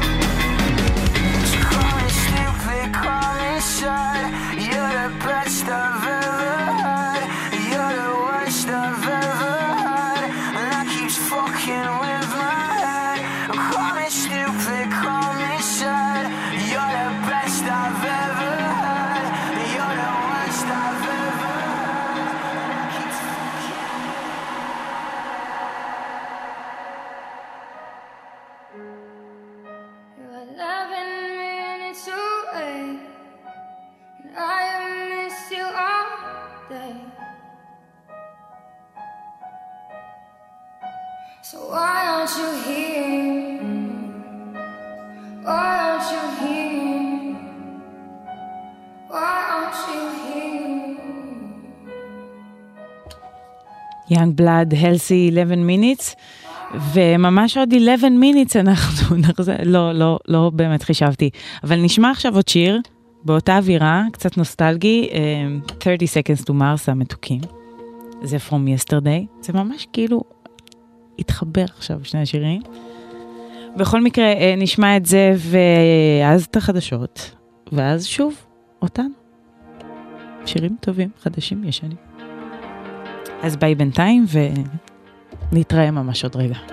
You call me stupid, call me shy. You're the best I've ever had. You're the worst I've ever had, and that keeps fucking with my head. Call me stupid, call me shy. You're the best I've ever had. You're the worst I've ever had, and that keeps You're eleven minutes away, and I miss you all day. So why aren't you here? Young Blood, Healthy eleven minutes, וממש עוד eleven minutes אנחנו נחזור, לא, לא, לא באמת חישבתי, אבל נשמע עכשיו עוד שיר, באותה אווירה, קצת נוסטלגי, thirty seconds to Mars המתוקים, זה From Yesterday, זה ממש כאילו התחבר עכשיו שני השירים, בכל מקרה נשמע את זה, ואז את החדשות, ואז שוב אותנו, שירים טובים, חדשים, ישנים. אז ביי בינתיים, ונתראה ממש עוד רגע.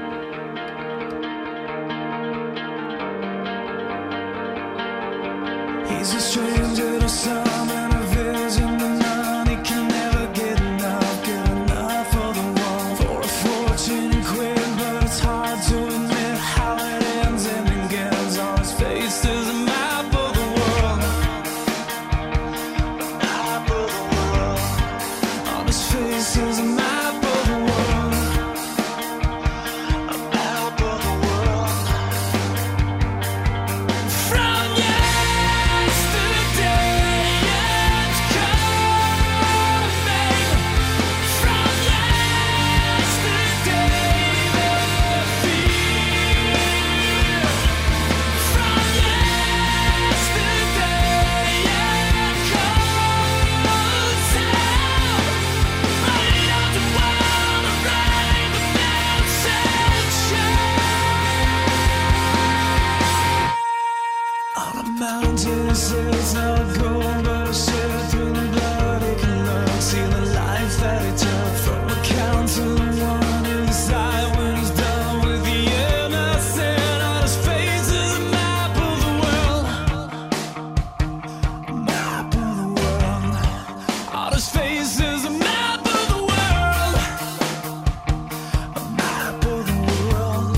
He's a stranger to some and a vision to none. He can never get enough, get enough for the one. For a fortune and quit, but it's hard to admit how it ends and begins. On his face there's a map of the world, map of the world. On his face there's a map of the world, a map of the world. From yesterday it's coming. From yesterday the fear. From yesterday it comes out. But it doesn't wanna rain the on a mountain it says no gold, but a share through the blood it can look. See the life that it took from a count to the one inside when he's done with the innocent. On his face is a map of the world, a map of the world. On his face is a map of the world, a map of the world.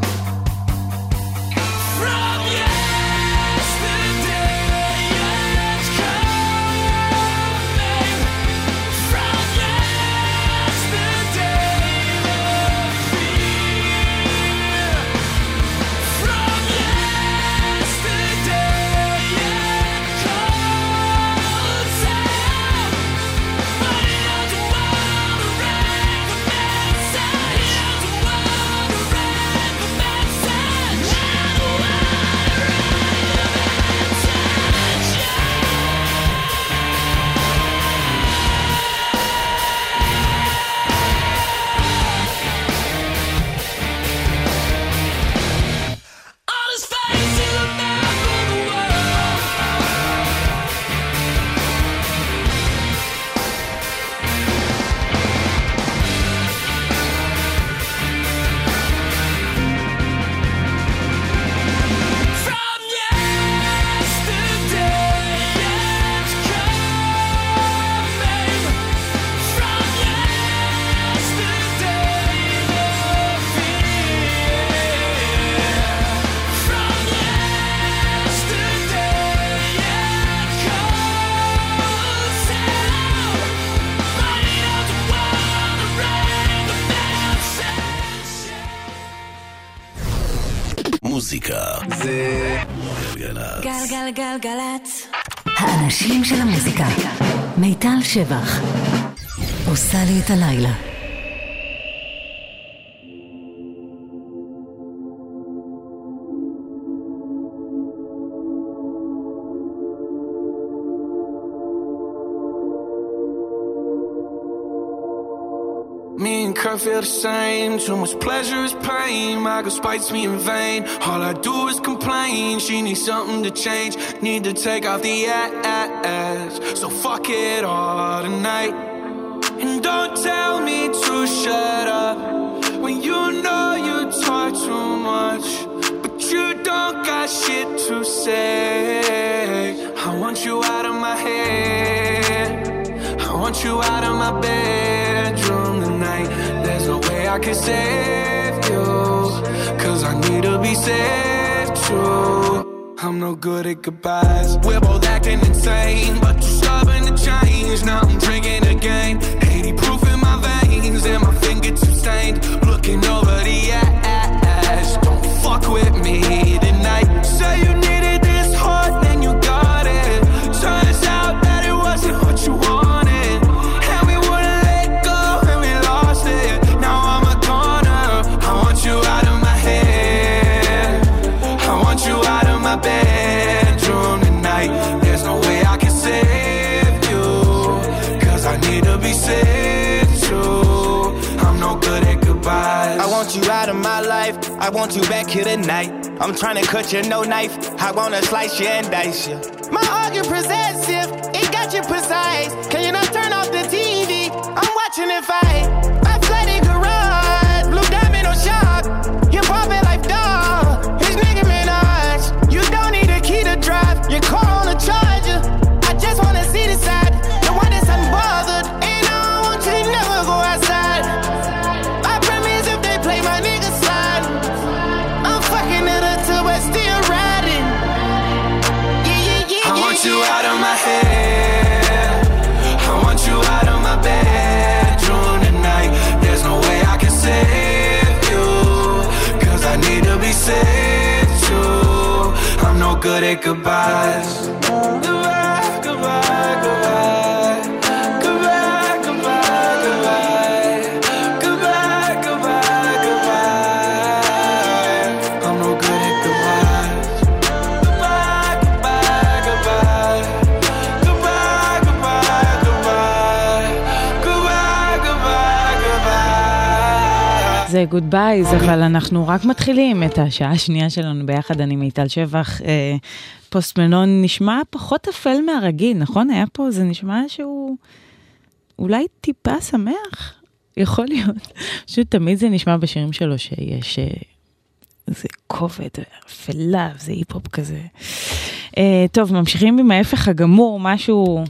From yesterday it's coming. From yesterday the fear. From yesterday it comes out. But it doesn't wanna rain the message. It doesn't wanna rain the message. On his face is a map of the world. From yesterday it's coming. From yesterday the fear. From yesterday it comes out. But it doesn't wanna rain the message. מוזיקה זה גלגלצ. גלגלגלגלצ. האנשים של המוזיקה. מיטל שבח. עושה לי את הלילה. Me and Kurt feel the same. Too much pleasure is pain. My girl spites me in vain. All I do is complain. She needs something to change. Need to take off the ass. So fuck it all tonight. And don't tell me to shut up when you know you talk too much, but you don't got shit to say. I want you out of my head. I want you out of my bedroom tonight. There's no way I can save you, cause I need to be saved too. I'm no good at goodbyes. We're both acting insane, but too stubborn to change. Now I'm drinking again. eighty proof in my veins and my fingertips stained. Looking over the ash. Don't fuck with me tonight. Say you needed this hard, then you got it. Turns out that it wasn't what you wanted. And we wouldn't let go, and we lost it. my bedroom tonight. There's no way I can save you, cause I need to be saved too. I'm no good at goodbyes. I want you out of my life, I want you back here tonight. I'm trying to cut you, no knife, I wanna slice you and dice you. My argument possessive, it got you precise. Can you not turn off the T V? I'm watching it fight. My flooded garage, blue diamond on shop. You're popping like dog, his nigga Minaj. You don't need a key to drive, your car on a charger. I just wanna see the side, the one that's unbothered. And I don't want you to never go outside. I promise if they play my nigga slide, I'm fucking it up till we're still riding. Yeah, yeah, yeah, I want yeah, you yeah. out of my head, I want you out of my bedroom tonight. There's no way I can save you, cause I need to be saved too. I'm no good at goodbyes. Goodbye, goodbye, goodbye. Goodbye, goodbye, goodbye. Goodbye, goodbye, goodbye. I'm no good at goodbyes. Goodbye, goodbye, goodbye. Goodbye, goodbye, goodbye. Goodbye, goodbye, goodbye. זה גוד בייז, אבל אנחנו רק מתחילים את השעה השנייה שלנו ביחד. אני מיטל שבח. אה, פוסט מלון נשמע פחות אפל מהרגיל, נכון? היה פה, זה נשמע שהוא אולי טיפה שמח, יכול להיות. פשוט תמיד זה נשמע בשירים שלו שיש אה, זה כובד, אפלה, זה היפ-הופ כזה. אה, טוב, ממשיכים עם ההפך הגמור, משהו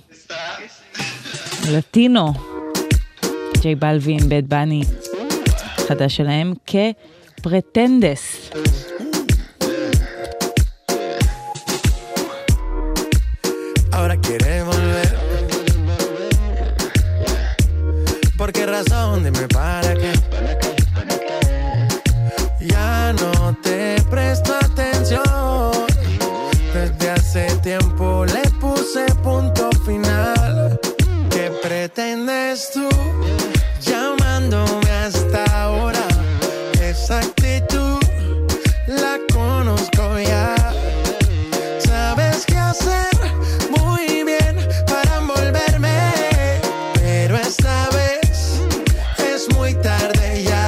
לטינו. ג'יי בלווין, בד בני. חדש שלהם כפרטנדס. Ahora quiere volver. ¿Por qué razón? Dime para qué. Ya no te presto atención. Desde hace tiempo le puse punto final. ¿Qué pretendes tú llamándome hasta ahora? Esa actitud la conozco ya. Sabes qué hacer muy bien para envolverme, pero esta vez es muy tarde ya.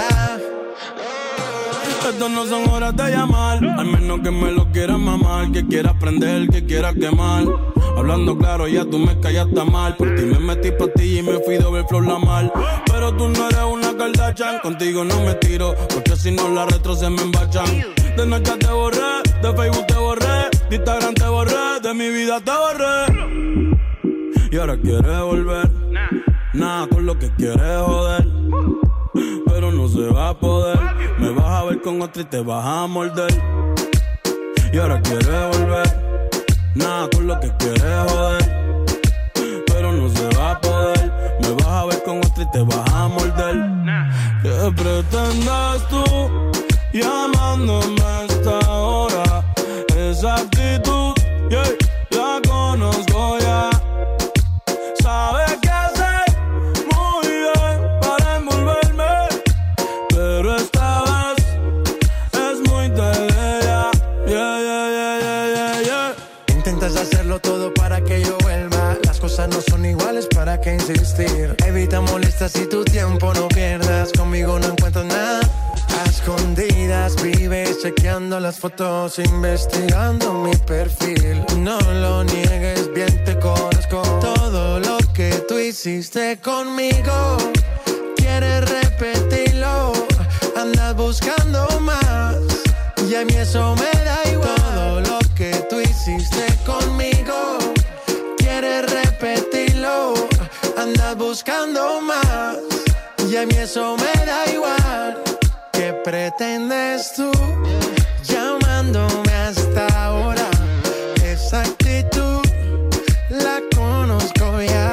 Estas no son horas de llamar, al menos que me lo quieras mamar, que quieras prender, que quieras quemar. Hablando claro, ya tú me callaste mal. Por ti me metí pa' ti y me fui doble flor la mal. Pero tú no eres una Kardashian, contigo no me tiro, porque si no la retro se me embachan. De noche te borré, de Facebook te borré, de Instagram te borré, de mi vida te borré. Y ahora quieres volver, nada con lo que quieres joder. Pero no se va a poder, me vas a ver con otra y te vas a morder. Y ahora quieres volver, nada con lo que quieres joder, pero no se va a poder. Me vas a ver con otra y te vas a morder. ¿Qué pretendes tú llamándome a esta hora? Esa actitud, yeah, la conozco ya. Sabes qué hacer muy bien para envolverme, pero esta vez es muy tarde ya. Yeah, yeah, yeah, yeah, yeah, yeah. Intentas hacerlo todo para que yo vuelva. Las cosas no son iguales, ¿para qué insistir? Evita molestas y tu tiempo no pierdas. Conmigo no encuentras nada. A escondidas vives chequeando las fotos, investigando mi perfil. No lo niegues, bien te conozco. Todo lo que tú hiciste conmigo, quieres repetirlo. Andas buscando más y a mí eso me da igual. Todo lo que tú hiciste conmigo, quieres repetirlo. Andas buscando más y a mí eso me da igual. ¿Qué pretendes tú llamándome hasta ahora? Esa actitud la conozco ya.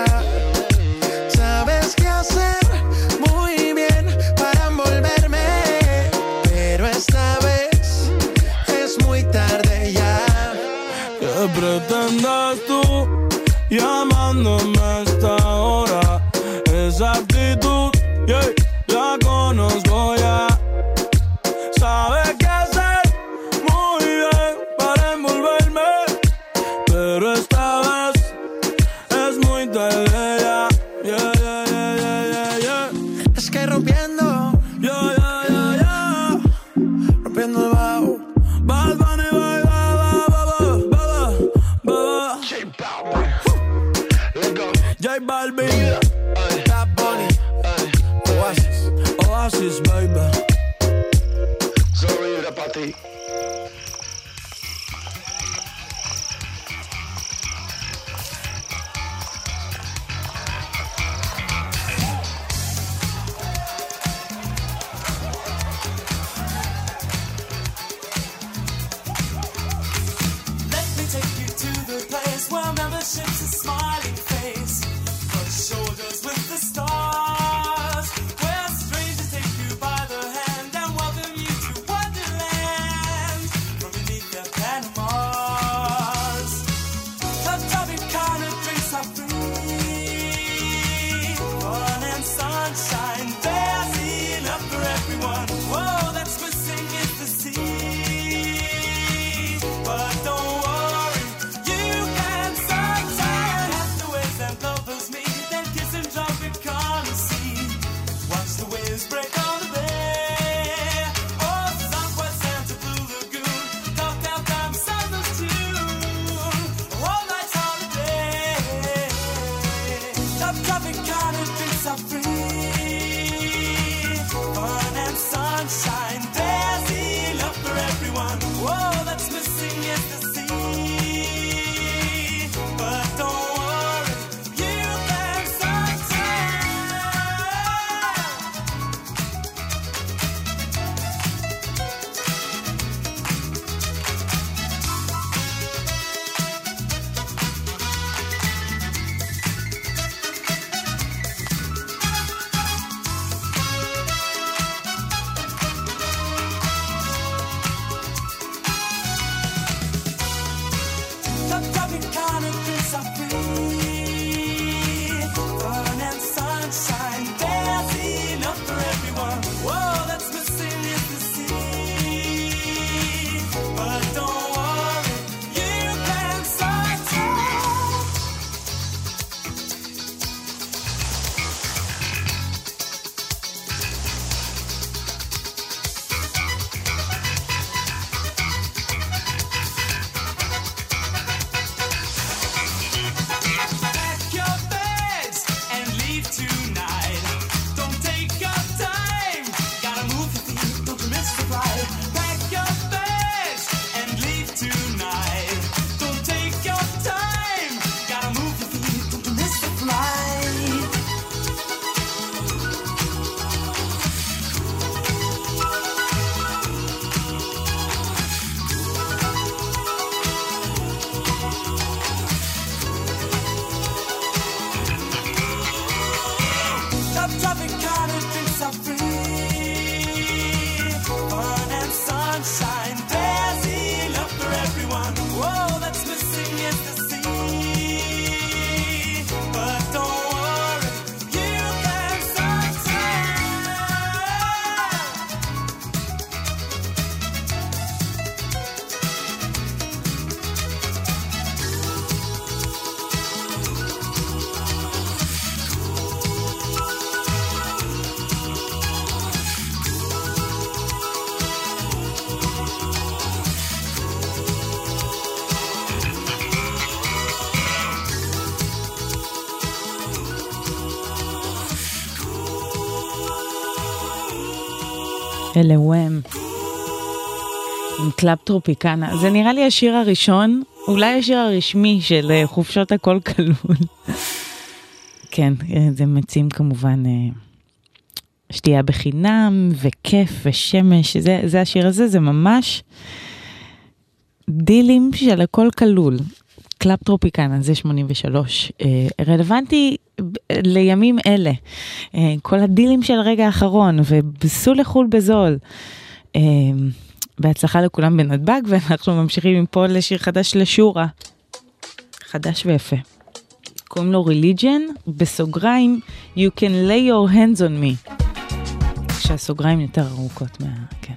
Sabes qué hacer muy bien para envolverme, pero esta vez es muy tarde ya. ¿Qué pretendes tú llamándome a esta hora? Esa actitud, yeah, la conozco ya. Sabes qué hacer muy bien para envolver. pero esta vez es muy tarde ya. Yeah, yeah, yeah, yeah, yeah, yeah. Es que rompiendo, yo, yo, yo, yo, rompiendo el bajo. Bad Bunny, bye, bye, bye, bye, bye, bye, J Balvin, let's go. J Balvin, Bad Bunny, Oasis, Oasis, baby. Sorry, era pa' ti. Membership's a smiling face, but shoulders with the stars, where strangers take you by the hand and welcome you to Wonderland from beneath their Panamas. The topic kind of drinks are free, fun and sunshine, there's enough for everyone. Whoa, that's missing is the sea, but don't worry. Break on the bay. Oh, Southwest Santa Blue Lagoon. Talk downtown Santa's tune. All night's holiday. Top traffic kind of drinks are free. Fun and sunshine. There's enough for everyone. Whoa, that's missing is the sea. But don't worry, you can sunshine. אלה וואם עם קלאב טרופיקנה. זה נראה לי השיר הראשון, אולי השיר הרשמי של חופשות הכל כלול. כן, זה מציעים כמובן שתייה בחינם וכיף ושמש. זה, זה השיר הזה, זה ממש דילים של הכל כלול. קלאב טרופיקנה, זה שמונים ושלוש. רלוונטי לימים אלה. כל הדילים של הרגע האחרון, ובסו לחול בזול. בהצלחה לכולם בנתב"ג, ואנחנו ממשיכים מפה לשיר חדש לשורה. חדש ויפה. קוראים לו Religion, בסוגריים, You can lay your hands on me. כשהסוגריים יותר ארוכות מה... כן.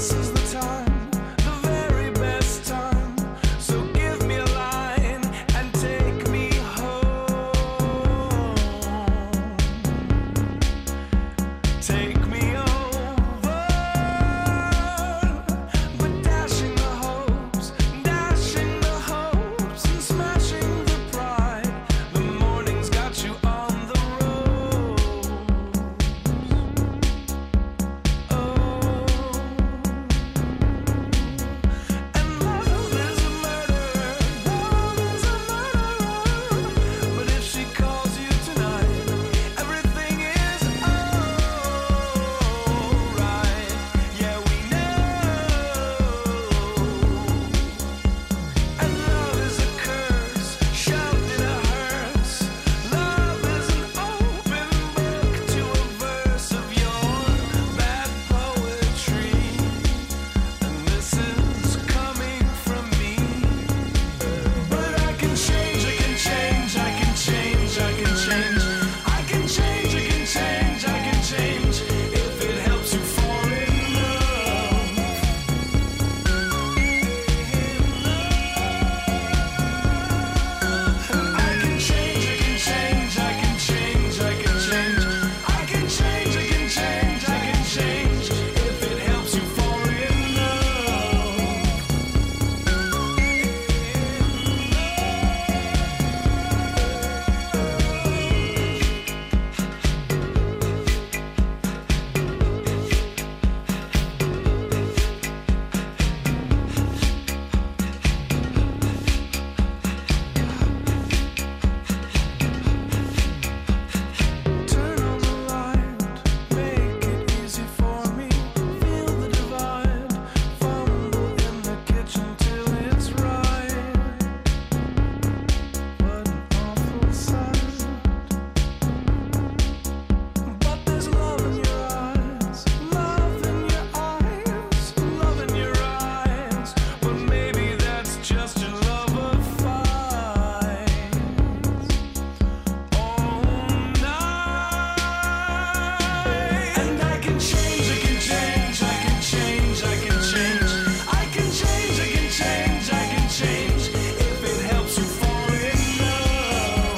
this is the time, the very best time. So give me a line and take me home. Take me over, but dashing the hopes, dashing the hopes and smashing the pride. The morning's got you on the road. And love is a murder, love is a murderer. But if she calls you tonight, everything is alright. Yeah, we know. And love is a curse, shoved in a hearse. Love is an open book to a verse of your bad poetry. And this is coming from me. But I can change, I can change, I can change, I can change. I can change, I can change, I can change. If it helps you fall in love. I can change, I can change, I can change, I can change. I can change, I can change, I can change. If it helps you fall in love. Turn on the light, make it easy for me. Feel the divide, fumble in the kitchen till it's right. What an awful sight. But there's love in your eyes, love in your eyes, love in your eyes. But maybe that's just your love of fights. All night. And I can change, I can change, I can change, I can change. I can change, I can change, I can change. If it helps you fall in love.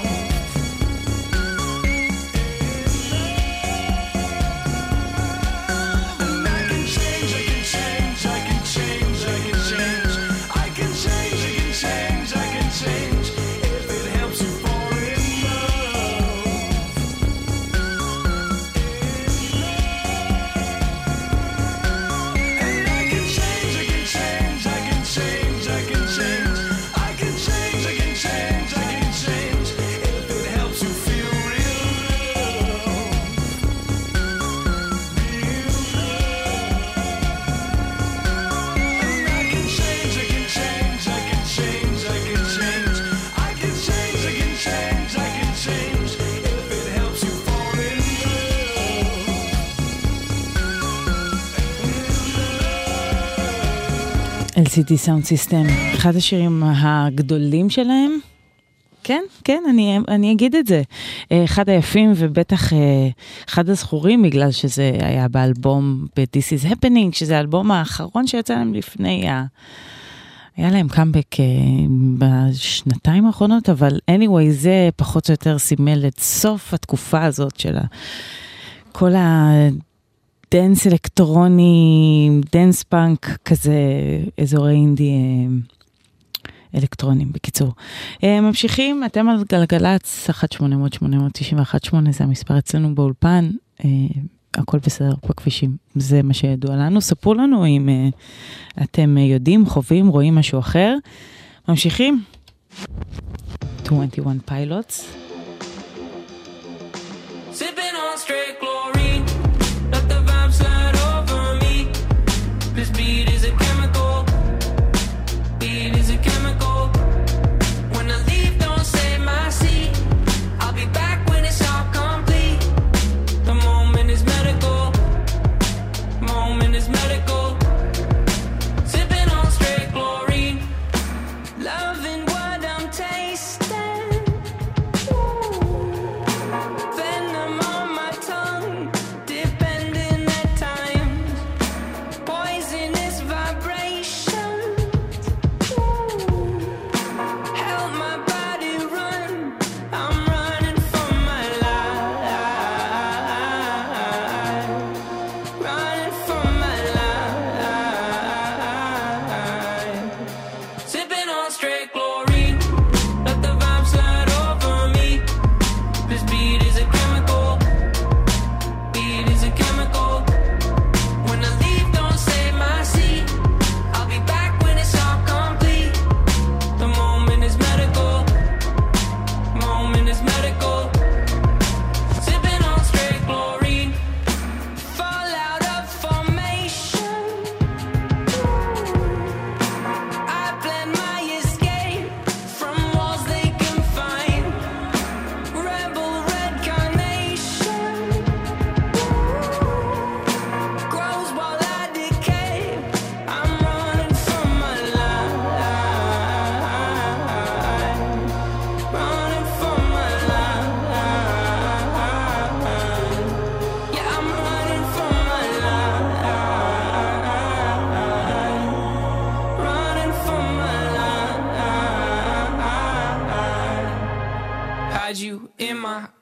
And I can change, I can change, I can change, I can change. I can change, I can change, I can change. If it helps you fall in love. And I can change, I can change, I can change, I can change. I can change, I can change, I can change. If it helps you feel real love. And I can change, I can change, I can change, I can change. I can change, I can change, I can change. If it helps you fall in אל סי די Sound System, אחד השירים הגדולים שלהם. כן, כן, אני, אני אגיד את זה. אחד היפים ובטח אחד הזכורים, בגלל שזה היה באלבום ב-This is Happening, שזה האלבום האחרון שיצא להם לפני, ה... היה להם קאמבק בשנתיים האחרונות, אבל anyway, זה פחות או יותר סימל את סוף התקופה הזאת של כל הדנס אלקטרוני, דנס פאנק, כזה אזורי אינדי אלקטרונים, בקיצור. ממשיכים, אתם על גלגלץ, אחת שמונה אפס אפס שמונה תשע אחת שמונה, זה המספר אצלנו באולפן, הכל בסדר בכבישים, זה מה שידוע לנו. ספרו לנו אם אתם יודעים, חווים, רואים משהו אחר. ממשיכים. twenty-one Pilots. Sipping on straight chlorine, let the vibe slide over me. This beat is a chemical, beat is a chemical. When I leave, don't save my seat. I'll be back when it's all complete. The moment is medical, moment is medical. Sipping on straight chlorine, loving what I'm tasting.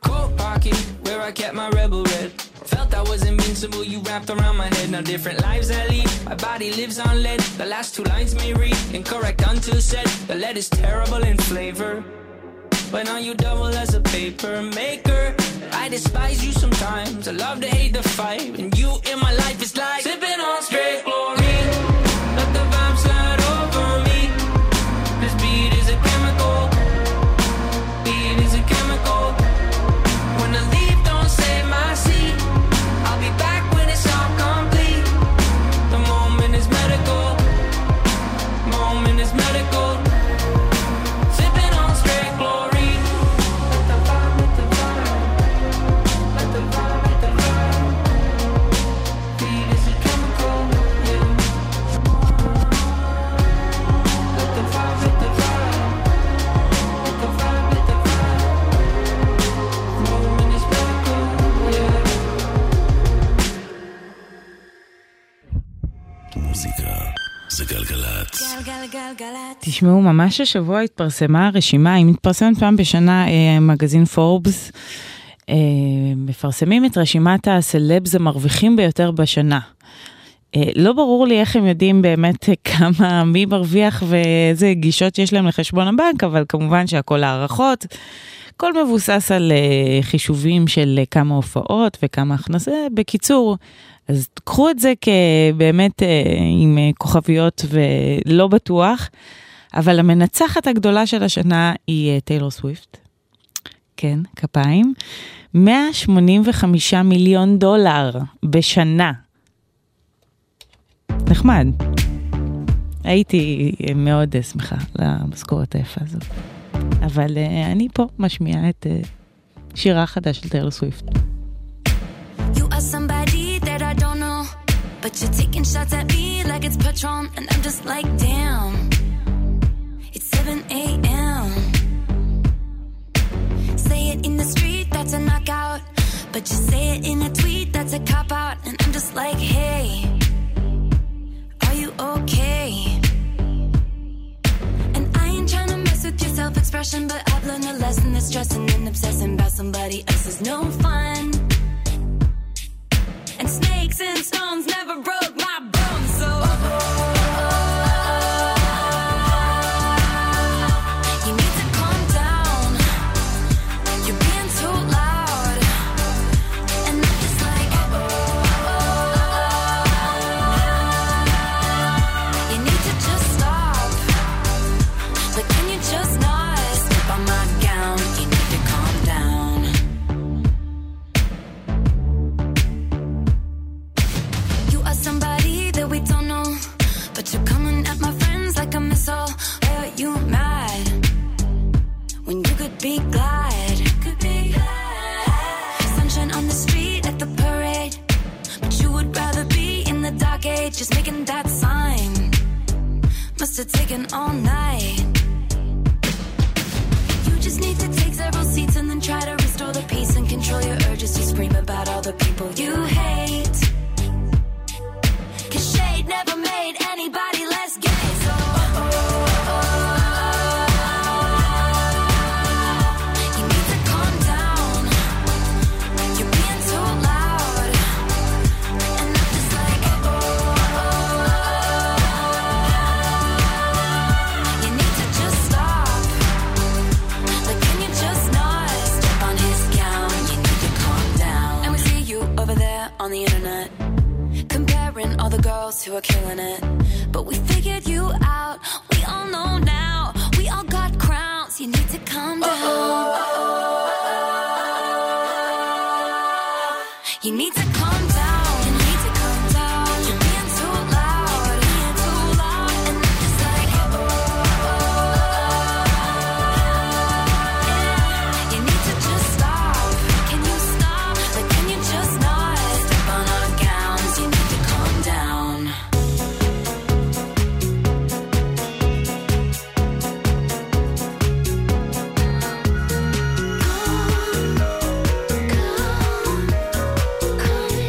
Coat pocket, where I kept my rebel red. Felt I was invincible, you wrapped around my head. Now different lives I lead, my body lives on lead. The last two lines may read incorrect until said. The lead is terrible in flavor, but now you double as a paper maker. I despise you sometimes, I love to hate the fight. And you in my life is like sipping on straight glory. Let the vibe slide over me. This beat is a chemical. Beat is a chemical. When the leaf don't save my seat, I'll be back when it's all complete. The moment is medical. Moment is medical. Sipping on straight glory. Let the vibe, let the vibe. Let the vibe, let the vibe. Beat is a chemical, yeah. Let the vibe, let the vibe. Let the vibe, let the vibe. Moment is medical, yeah. מוזיקה זה גלגלת. גלגלגלגלת. תשמעו, ממש השבוע התפרסמה הרשימה, היא מתפרסמת פעם בשנה, אה, מגזין פורבס, אה, מפרסמים את רשימת הסלבס המרוויחים ביותר בשנה. אה, לא ברור לי איך הם יודעים באמת כמה, מי מרוויח ואיזה גישות יש להם לחשבון הבנק, אבל כמובן שהכל הערכות, הכל מבוסס על אה, חישובים של אה, כמה הופעות וכמה הכנסה. בקיצור, אז קחו את זה כבאמת אה, עם אה, כוכביות ולא בטוח, אבל המנצחת הגדולה של השנה היא אה, טיילור סוויפט. כן, כפיים. מאה שמונים וחמישה מיליון דולר בשנה. נחמד. הייתי אה, מאוד אה, שמחה למשכורת היפה הזאת. אבל אה, אני פה משמיעה את אה, שירה החדש של טיילור סוויפט. You are somebody that I don't know, but you're taking shots at me like it's Patron, and I'm just like, damn, it's seven a.m. Say it in the street, that's a knockout, but you say it in a tweet, that's a cop-out, and I'm just like, hey, are you okay? And I ain't trying to mess with your self-expression, but I've learned a lesson that stressing and obsessing about somebody else is no fun. And snakes and stones never broke my bones, so you need to calm down. You're being too loud, and I'm just like, you need to just stop. Like, can you just not step on my gown? You need to calm down. Somebody that we don't know, but you're coming at my friends like a missile. Why are you mad when you could be glad? Could be glad. Sunshine on the street at the parade, but you would rather be in the dark age, just making that sign. Must have taken all night. You just need to take several seats and then try to restore the peace and control your urges to scream about all the people you hate. Cause shade never made anybody less gay, so you need to calm down. You're being too loud, and I'm just like, you need to just stop. Like, can you just not step on his gown? You need to calm down. And we see you over there on the internet, comparing all the girls who are killing it. But we figured you out, we all know now. We all got crowns, you need to calm down. You need to calm down. You need to calm down. You're being too loud, being too loud, and I'm just like, yeah. You need to just stop. Can you stop? Like, can you just not step on our gowns? You need to calm down. Calm, calm, calm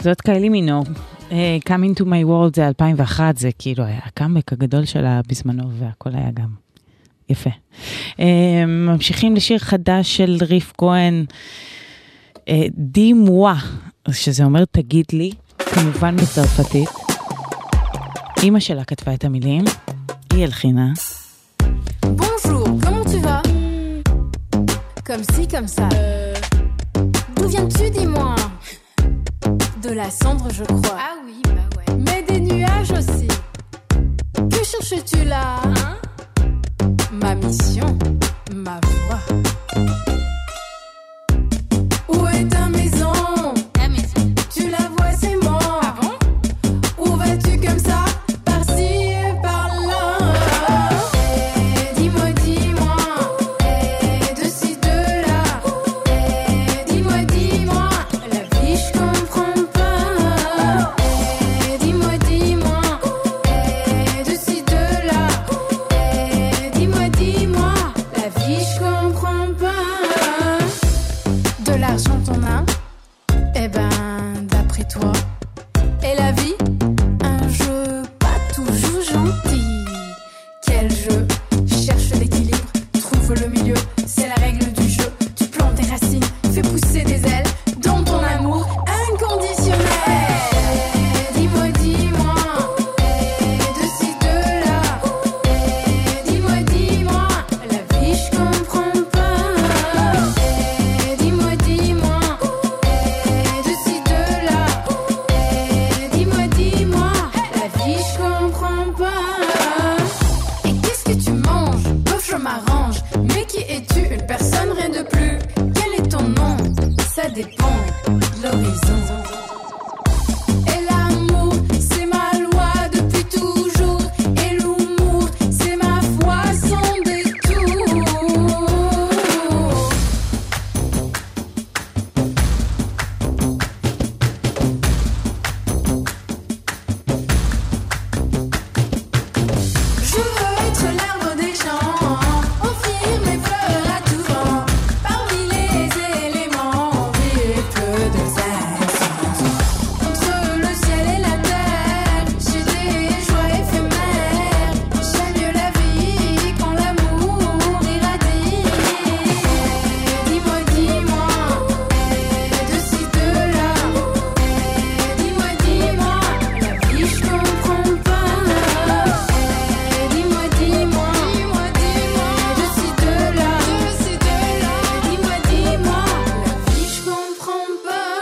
זאת קיילי מינור. Uh, Coming to my world זה אלפיים ואחת, זה כאילו היה הקאמבק הגדול שלה בזמנו, והכל היה גם יפה. Uh, ממשיכים לשיר חדש של ריף כהן, uh, די מואה, שזה אומר תגיד לי, כמובן בצרפתית. אמא שלה כתבה את המילים, היא הלחינה. Bonjour, comment tu vas? Comme ci, comme ça. Euh, d'où viens-tu, dis-moi? De la cendre, je crois. Ah oui, bah ouais. Mais des nuages aussi. Que cherches-tu là? Hein? Ma mission, ma voix. Où est ta maison? Ta maison. Tu la vois, c'est moi. Ah bon? Où vas-tu comme ça? Par-ci et par-là. Eh, dis-moi, dis-moi. Eh, de ci, de là. Eh, dis-moi, dis-moi. La vie, je comprends pas. Eh, dis-moi, dis-moi. Eh, de ci, de là. Eh, dis-moi, dis-moi. La vie, je comprends pas. De l'argent, t'en as? Eh ben, d'après toi. Et la vie? Un jeu pas toujours gentil. Quel jeu? Cherche l'équilibre, trouve le milieu. C'est la règle du jeu. Tu plantes tes racines, fais pousser des ailes dans ton amour inconditionnel. Dis-moi, dis-moi. De ci, de là. Dis-moi, dis-moi. La vie, je comprends pas. Dis-moi, dis-moi. De ci, de là. Dis-moi, dis-moi. La vie, je comprends pas. Et qu'est-ce que tu manges? Bof, je m'arrange. Mais qui es-tu? Une personne, rien de plus. Quel est ton nom? Ça dépend de l'horizon. Et l'amour, c'est ma loi depuis toujours. Et l'humour, c'est ma foi sans détour. Je veux être l'arbre des champs, offrir mes fleurs à tout vent. Parmi les éléments, vivre peu de sens. Entre le ciel et la terre, j'ai des joies éphémères. J'aime mieux la vie quand l'amour irradie. Dis-moi, dis-moi, de ci, de là. Dis-moi, dis-moi, la vie, je comprends pas. Dis-moi, dis-moi, dis-moi, dis-moi, de ci, de là, de ci, de là. Dis-moi, dis-moi, la vie, je comprends pas.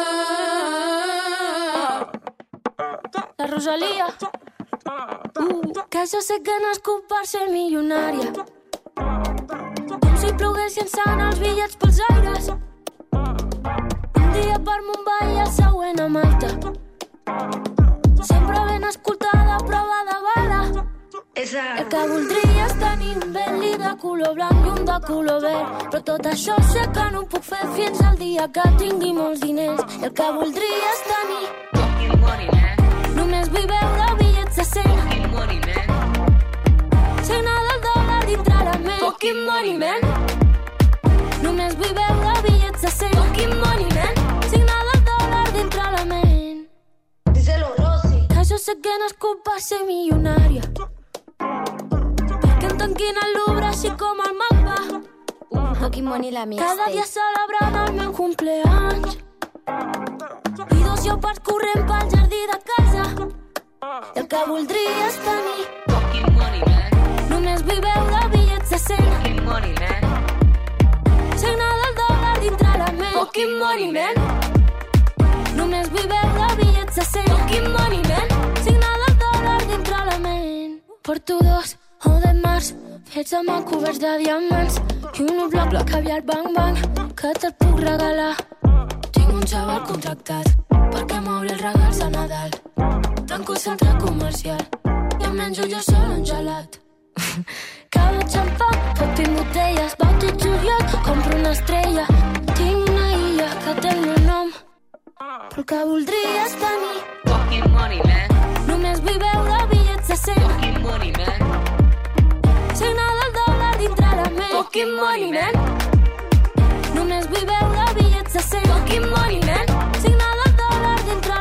La Rosalía. Uh, que jo sé que nascut per ser milionària. Com si ploguessin sant els bitllets pels aires. Un dia per Mumbai i el següent a Malta. Sempre ben escoltada, prova de bala. El que voldria és tenir un Bentley de color blanc i un de color verd. Però tot això sé que no ho puc fer fins al dia que tingui molts diners. El que voldria és tenir només vull veure bitllets de cent. Signar del dòlar dintre la ment. Fucking money, man. Només vull veure bitllets de cent. Fucking money, man. Signar del dòlar dintre la ment. Díselo, Rosy. Que jo sé que nascut per ser milionària. Perquè em tanquin al Louvre així com el mapa. Fucking money la mixtape. Cada dia celebrant el meu cumpleaños. I dos llopards corrent pel jardí de casa. El que voldria és tenir només vull veure bitllets de cent. Signar del dòlar dintre la ment. Fucking money, man. Només vull veure bitllets de cent. Fucking money, man. Signar del dòlar dintre la ment. Porto dos o de març fets amb el coberts de diamants i un bloc bloc caviar bang bang que te'l puc regalar. Tinc un xaval contractat perquè m'obri els regals a Nadal. Tanco el centre comercial i em menjo jo sol un gelat. Cada xampà, fotin botelles, bauti juliol, compro una estrella. Tinc una illa que té el meu nom, però el que voldria és tenir fucking money, man. Només vull veure bitllets de cent. Fucking money, man. Signar del dòlar dintre la ment. Fucking money, man. Només vull veure bitllets de cent. Fucking money, man. Signar del dòlar dintre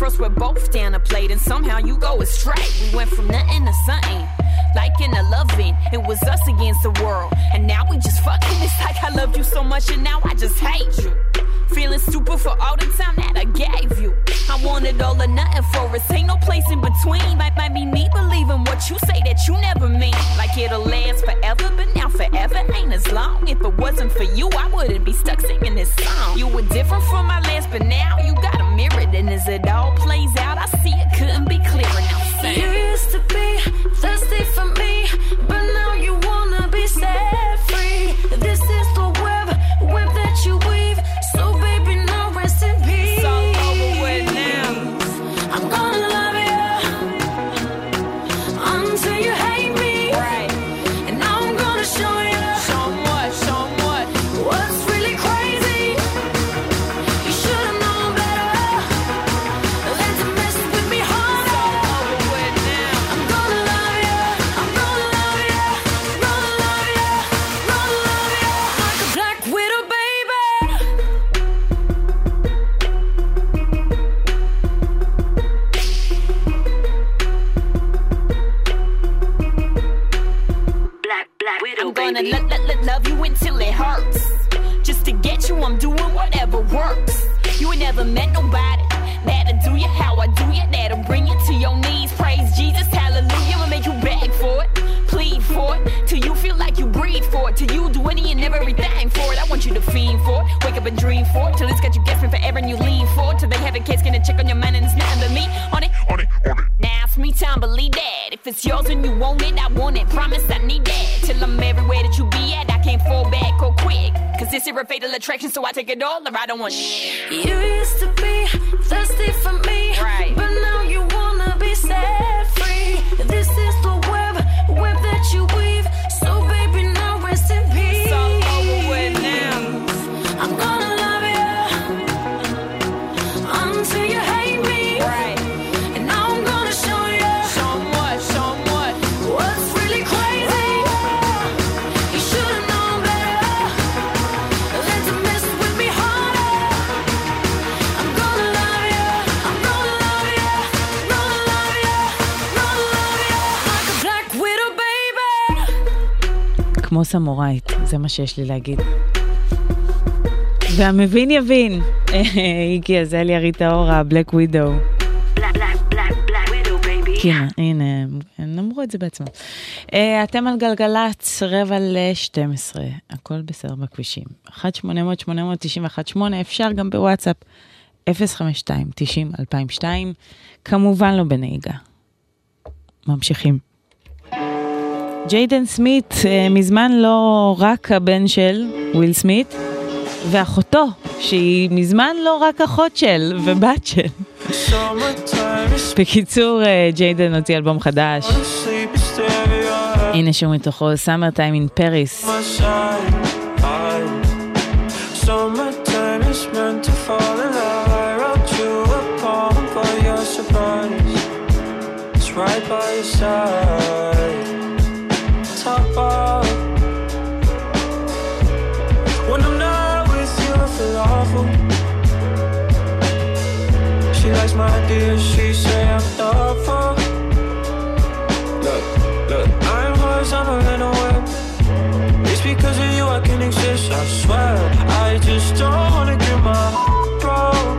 First we're both down a plate and somehow you go astray. We went from nothing to something, like in a loving. It was us against the world, and now we just fucking. It's like I loved you so much and now I just hate you. Feeling stupid for all the time that I gave you. I wanted all or nothing for us, ain't no place in between. Might, might be me believing what you say that you never mean. Like it'll last forever, but now forever ain't as long. If it wasn't for you, I wouldn't be stuck singing this song. You were different from my last, but now you got a mirror. And as it all plays out, I see it couldn't be clearer. Now sing. You used to be thirsty for me, but now you wanna be set free. This is the web, web that you weave. So baby, now rest in peace. It's all over with now. I'm gonna love you until you hate me. Right. And now I'm gonna show you. Show 'em what, show 'em what. What's really crazy? You should've known better than to mess with me harder. It's all over with now. I'm gonna love you. I'm gonna love you. Gonna love you. Gonna love you like a black widow, baby. I'm gonna lo- lo- lo- love you until it hurts. Just to get you, I'm doing whatever works. You ain't never met nobody that'll do you how I do you, that'll bring you to your knees. Praise Jesus, hallelujah. I'ma make you beg for it, plead for it, till you feel like you breathe for it, till you do any and everything for it. I want you to fiend for it, wake up and dream for it, till it's got you guessing forever and you lean for it, till they have a case, can check on your mind and it's nothing but me on it. On it, on it. Now it's me time, believe that. If it's yours and you want it, I want it. Promise I need that. Till I'm everywhere that you be at, I can't fall back or quick. Cause this is a fatal attraction, so I take it all or I don't want shit. You used to be thirsty for me, right? But now you wanna be set free. This is the web, web that you weave. So baby, now rest in peace. It's all over with now. I'm gonna love you until you hate me. Right. And now I'm gonna show you. Show 'em what, show 'em what. What's really crazy? You should've known better than to mess with me harder. I'm gonna love you. I'm gonna love you. Gonna love you. Gonna love you like a black widow, baby. כמו סמורייט, זה מה שיש לי להגיד. והמבין יבין. איקי עזליה ריטה אורה, בלק ווידו. כן, הנה, הם אמרו את זה בעצמם. אתם על גלגלץ, רבע ל-שתים עשרה. הכל בסדר בכבישים. אחת שמונה אפס אפס שמונה תשע אחת שמונה, אפשר גם בוואטסאפ. אפס חמש שתיים תשעים אלפיים ושתיים. כמובן לא בנהיגה. ממשיכים. ג'יידן סמית, מזמן לא רק הבן של וויל סמית, ואחותו, שהיא מזמן לא רק אחות של ובת של. בקיצור, ג'יידן הוציא אלבום חדש. הנה שהוא מתוכו, Summer Time in Paris. Summertime is meant to fall in love. I wrote you a poem for your surprise. It's right by your side. Top off. When I'm not with you, I feel awful. She likes my ideas, she say I'm thoughtful. Look, look, I'm hers, I'm a little wet. It's because of you I can exist, I swear. I just don't wanna get my broke.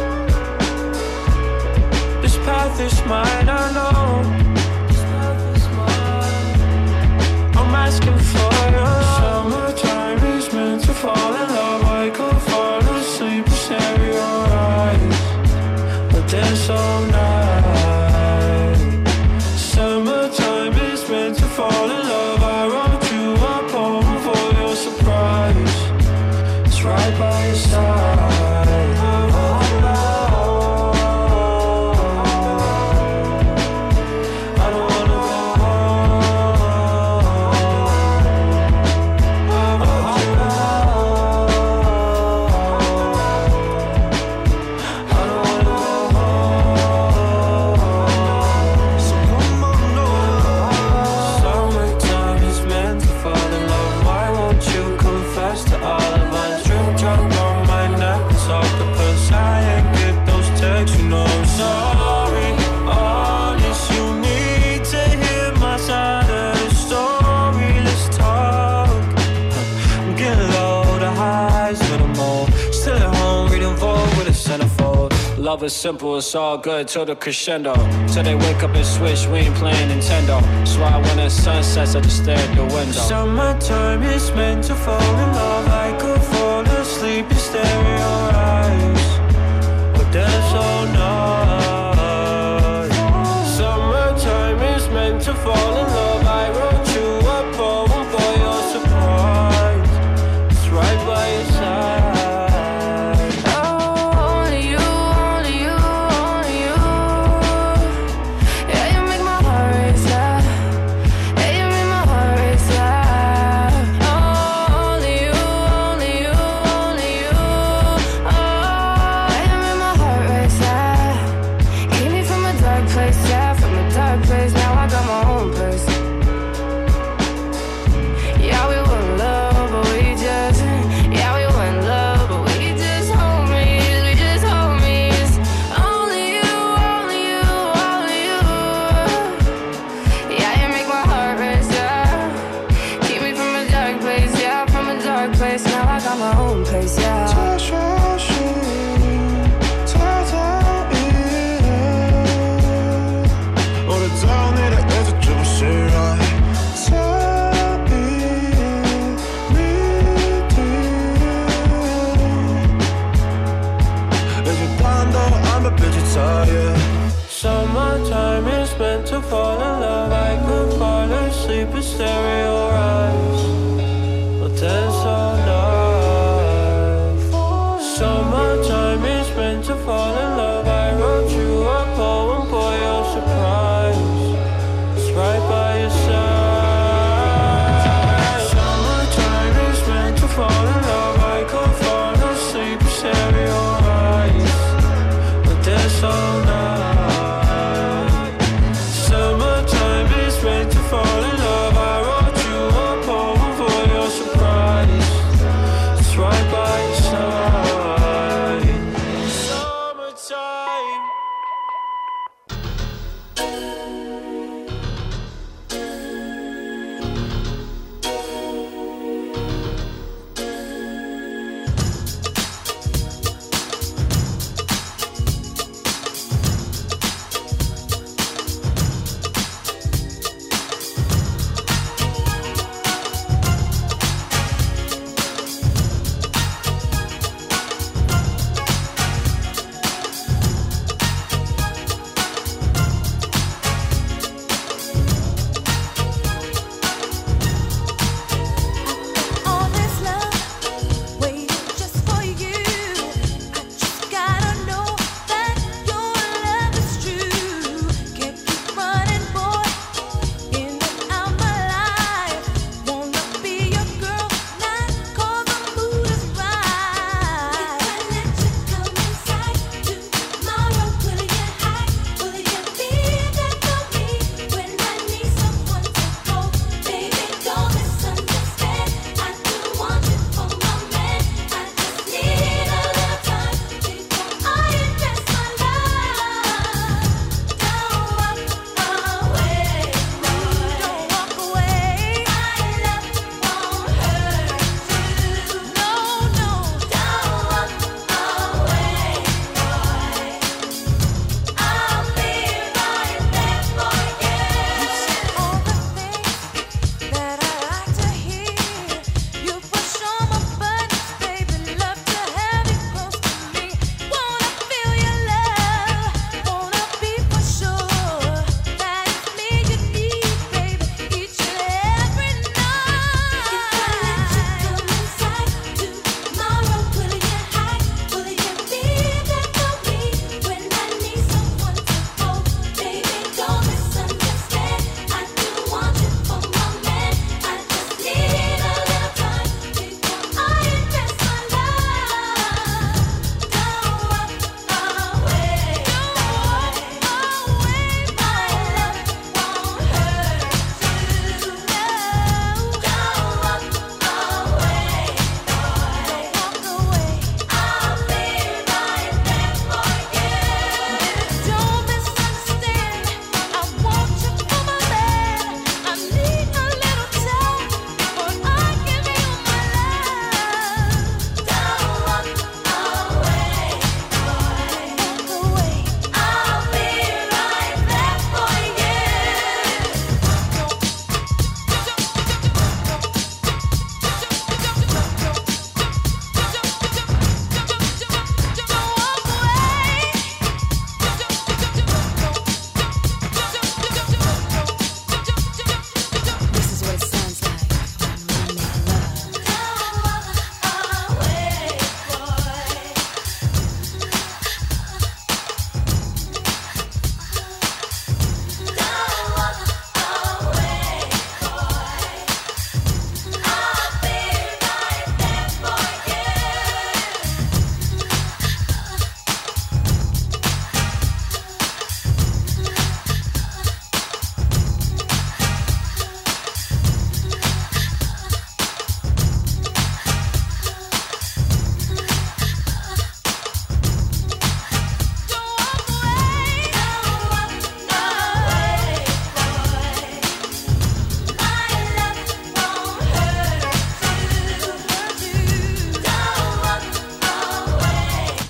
This path is mine, I know. This path is mine. I'm asking for your love. Summertime is meant to fall in love. I could fall asleep and stare at your eyes, but dance all night. Summertime is meant to fall in love. I wrote you a poem for your surprise. It's right by your side. I don't wanna go home. Love is simple, it's all good till the crescendo. Till they wake up and switch, we ain't playing Nintendo. That's why when the sun sets, I just stare at the window. Summertime is meant to fall in love. I could fall asleep and stare in your eyes, but that's all night. Summertime is meant to fall in love. I wrote you a poem for your surprise. It's right by your side. Summertime is meant to fall in love. I could fall asleep and stare in your eyes, but that's all night. Summertime is meant to fall in love. I wrote you a poem for your surprise. It's right by your side. Summertime is meant to fall in love. I could fall asleep and stare in your eyes, but that's all night. Fall in love, I wrote you a poem for your surprise. It's right by your side. Summertime.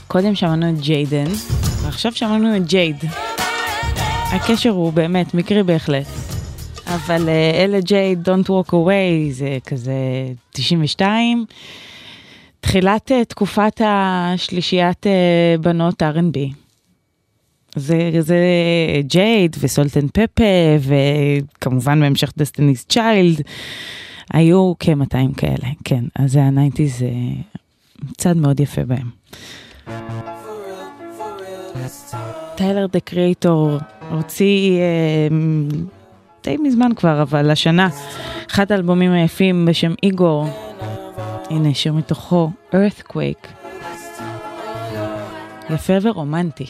קודם שמענו את ג'יידן, ועכשיו שמענו את ג'ייד. הקשר הוא באמת מקרי בהחלט. אבל אלה ג'ייד, Don't Walk Away, זה כזה תשעים ושתיים. תחילת תקופת השלישיית בנות אר אנד בי. זה, זה ג'ייד וסולט אנד פפה, וכמובן בהמשך דסטיני's צ'יילד, היו כ-מאתיים כאלה, כן. אז ה-תשעים זה צד מאוד יפה בהם. טיילר דה קריאטור הוציא אה, די מזמן כבר, אבל השנה, אחד האלבומים היפים בשם איגור, הנה שיר מתוכו, Earthquake, יפה ורומנטי.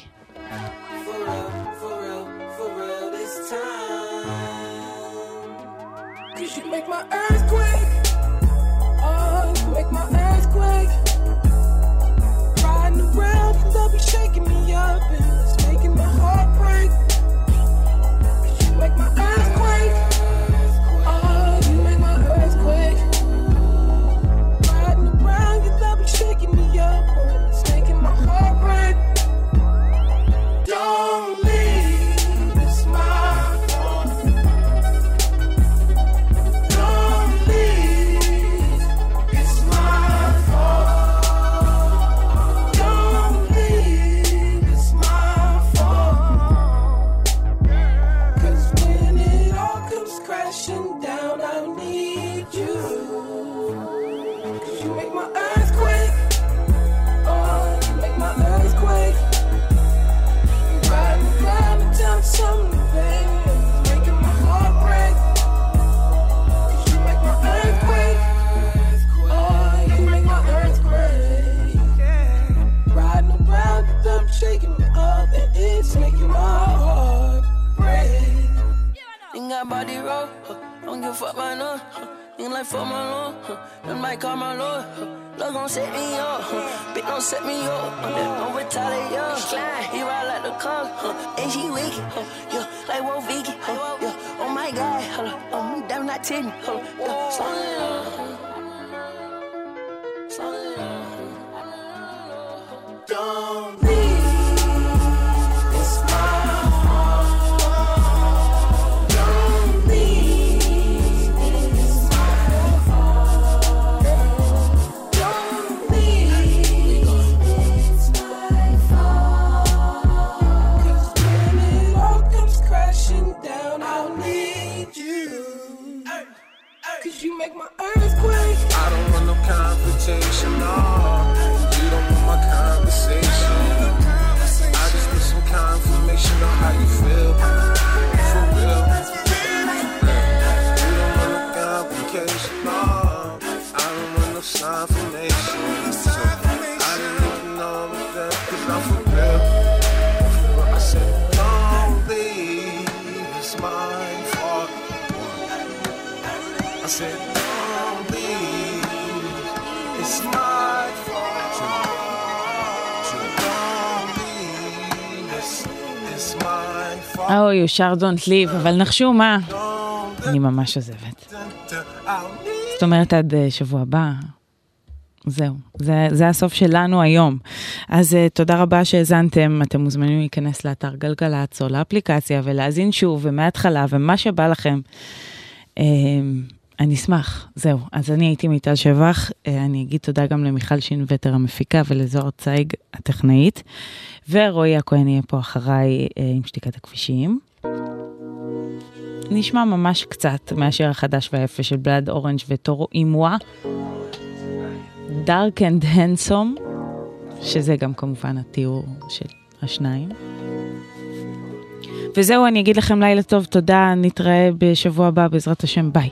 אוי, יושר Don't Leave, אבל נחשו מה? אני ממש עוזבת. זאת אומרת, עד שבוע הבא. זהו, זה, זה הסוף שלנו היום. אז uh, תודה רבה שהזנתם, אתם מוזמנים להיכנס לאתר גלגלצ או לאפליקציה ולהזין שוב ומההתחלה ומה שבא לכם. Uh, אני אשמח, זהו. אז אני הייתי מיטל שבח, uh, אני אגיד תודה גם למיכל שינווטר המפיקה ולזוהר צייג הטכנאית, ורועי הכהן יהיה פה אחריי uh, עם שתיקת הכבישים. נשמע ממש קצת מהשיר החדש והיפה של בלאד אורנג' וטורו אימואה. Dark and Handsome, שזה גם כמובן התיאור של השניים. וזהו, אני אגיד לכם לילה טוב, תודה, נתראה בשבוע הבא בעזרת השם, ביי.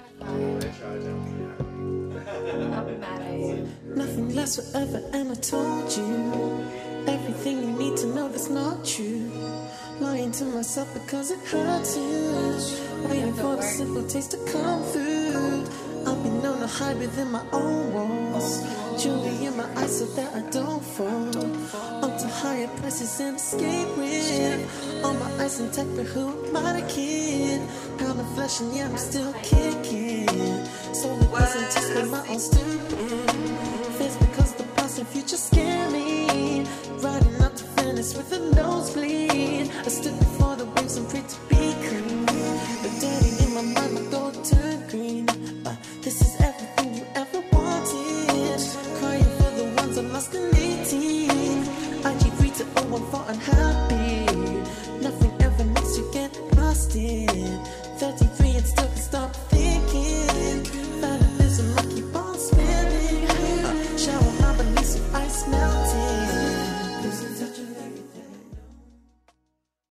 Nothing lasts forever and I told you everything you need to know that's not true. Lying to myself because it hurts you. Waiting for the simple taste to come through. I've been known to hide within my own walls. Jewelry in my eyes so that I don't fall. Up to higher prices and escape with. All my eyes intact, but who am I the kid? Pound of flesh and yeah, I'm still kicking. So it wasn't just with my own student. Fears because the past and future scare me. riding up to Venice with a nosebleed. I stood